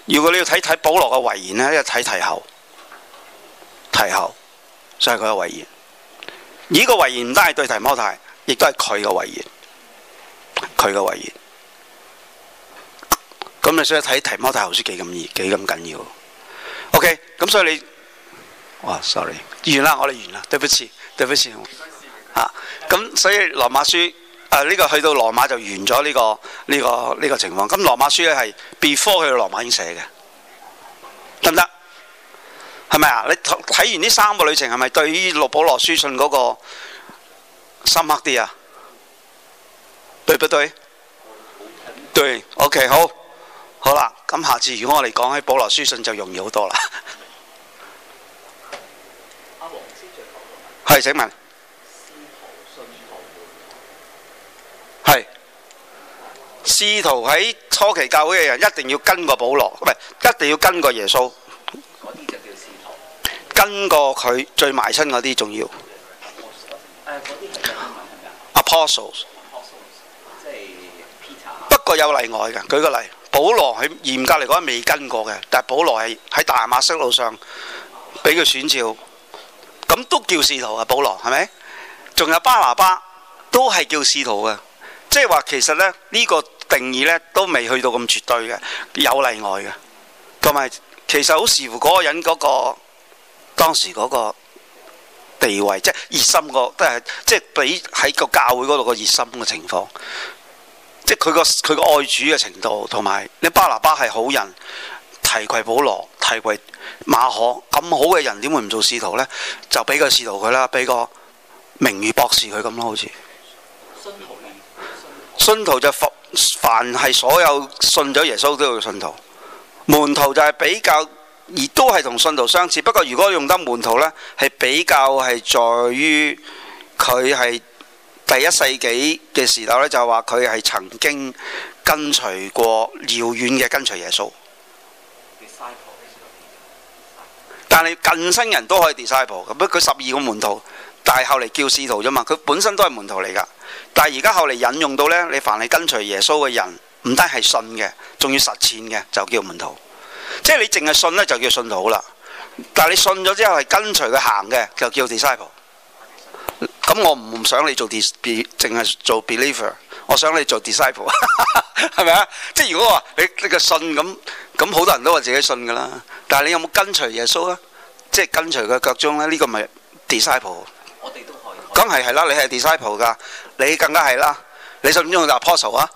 如果你要睇保羅嘅遺言呢，一睇提後就係佢嘅遺言。呢個遺言唔單係對提摩太，亦都係佢嘅遺言，咁你所以睇提摩太後書幾咁緊要。OK， 咁所以你sorry， 完啦，我哋完啦，對不起咁所以羅馬書呢個去到羅馬就完咗呢個情況。咁羅馬書咧係 before 去到羅馬已經寫嘅，得唔得？係咪啊？你睇完呢3個旅程係咪對於保羅書信嗰個深刻啲啊？對不對？對 ，OK， 好啦。咁下次如果我哋講起保羅書信就容易好多啦。係，請問係使徒喺初期教會嘅人一定要跟過保羅，唔係一定要跟過耶穌。 嗰啲就叫使徒。 跟過佢最埋親嗰啲仲要。 嗰啲係英文係咪啊 ？Apostles。 即係 Peter。 不過有例外嘅，舉個例，保羅喺嚴格嚟講未跟過嘅，但係保羅係喺大馬色路上俾佢選召，咁都叫使徒啊。保羅係咪？仲有巴拿巴都係叫使徒嘅，即係話其實咧呢個定義咧都未去到咁絕對嘅，有例外嘅，同埋其實好視乎嗰個人嗰個當時嗰個地位，即係熱心個都係即係比喺個教會嗰度個熱心嘅情況。即係佢個愛主嘅程度，同埋你巴拿巴係好人，提攜保羅，提攜馬可，咁好嘅人點會唔做使徒呢？就俾個使徒佢啦，俾個名譽博士佢咁咯，好似。信徒就凡係所有信咗耶穌都要信徒，門徒就係比較，而都係同信徒相似。不過如果用得門徒呢，係比較係在於佢係。第一世紀嘅時代咧，就話佢係曾經跟隨過遙遠嘅跟隨耶穌。但係近生人都可以 disciple， 咁佢12個門徒，但係後嚟叫使徒啫嘛。佢本身都係門徒嚟㗎。但係而家後嚟引用到呢，你凡係跟隨耶穌嘅人，唔單係信嘅，仲要實踐嘅，就叫門徒。即係你淨係信呢，就叫信徒啦。但係你信咗之後係跟隨佢行嘅，就叫 disciple。咁我唔想你做淨係做 believer， 我想你做 disciple， 係咪啊？即係如果話你個信咁好多人都話自己信噶啦，但係你有冇跟隨耶穌啊？即係跟隨佢腳蹤咧？呢個咪 disciple？ 我哋都可以。 梗係啦，你係 disciple 噶，你更加係啦。你信唔信用 apostle 啊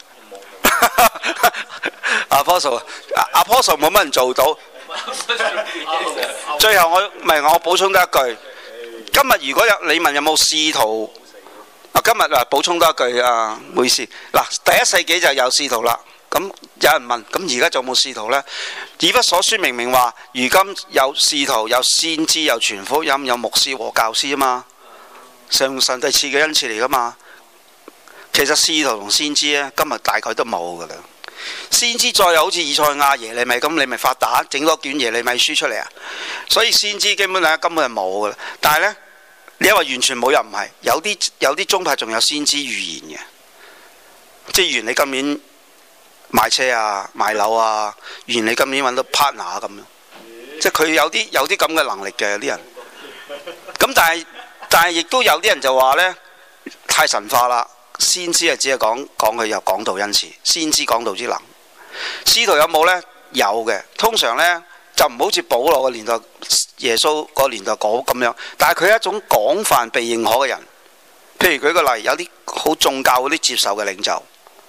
？apostle 冇乜人做到。最後我補充多一句。今日如果你問有冇使徒，今日補充多一句啊，唔好意思。第一世紀就有使徒啦。咁有人問，咁而家仲有冇使徒呢？以弗所書明明話，如今有使徒、有先知、有傳福音、有牧師和教師啊嘛，上帝賜嘅恩賜嚟噶嘛。其實使徒同先知呢，今日大概都冇噶啦。先知再有好似以賽亞、耶利米咁，你咪發達整多卷耶利米書出嚟啊！所以先知基本上根本係冇噶啦。但係呢，你因為完全冇又唔係，有啲宗派仲有先知預言嘅，即係預言你今年買車啊、買樓啊，預言你今年揾到 partner 咁樣，即係佢有啲咁嘅能力嘅有啲人。咁但係亦都有啲人就話呢，太神化啦。先知係只係講佢有講道恩賜，先知講道之能。使徒有冇呢？有嘅，通常呢，就唔好似保羅個年代、耶穌個年代講咁樣，但係佢係一種廣泛被認可嘅人。譬如舉個例，有啲好眾教嗰啲接受嘅領袖，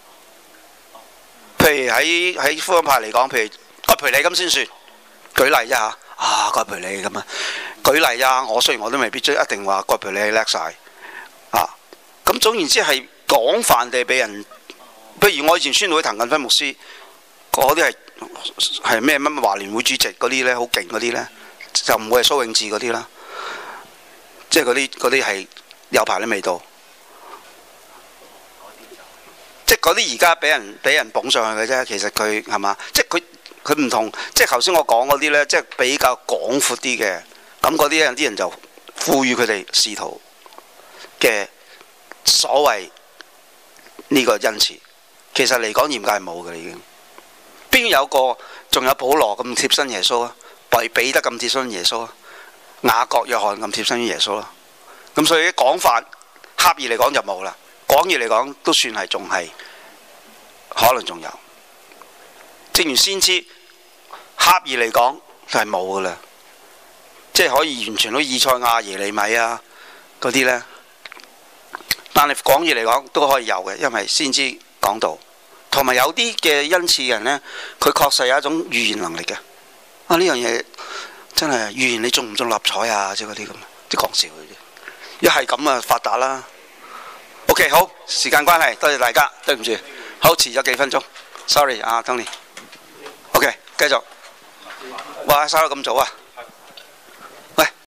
譬如喺福音派嚟講，譬如葛培理咁先算。舉例啫嚇，葛培理咁啊，舉例啊，我雖然我都未必一定話葛培理叻晒啊，咁總言之係。廣泛地俾人，譬如我以前宣道會滕近輝牧師，嗰啲係咩乜華聯會主席嗰啲呢，好勁嗰啲呢，就唔會係蘇永智嗰啲啦，即係嗰啲係有排都未到，即係嗰啲而家俾人捧上去嘅啫。其實佢係嘛，即係佢唔同，即係頭先我講嗰啲呢，即係比較廣闊啲嘅，咁嗰啲人就賦予佢哋使徒嘅所謂。呢個恩賜其實嚟講嚴格係冇嘅，已經邊有個仲有保羅咁貼身耶穌啊，彼得咁貼身耶穌啊，雅各約翰咁貼身於耶穌啦。咁所以廣泛狹義嚟講就冇啦，廣義嚟講都算係仲係可能仲有。正如先知狹義嚟講就係冇噶啦，即係可以完全都以賽亞、耶利米啊嗰啲呢。但係廣義嚟講都可以有嘅，因為先知講道，同埋有啲嘅恩賜嘅人呢，佢確實有一種預言能力嘅。啊，呢樣嘢真係預言你中唔中六合彩啊？即係嗰啲咁，啲講笑嘅啫。一係咁啊，發達啦。OK， 好，時間關係，多謝大家，對唔住，好遲咗幾分鐘 ，sorry 啊 ，Tony。OK， 繼續。哇，收得咁早啊！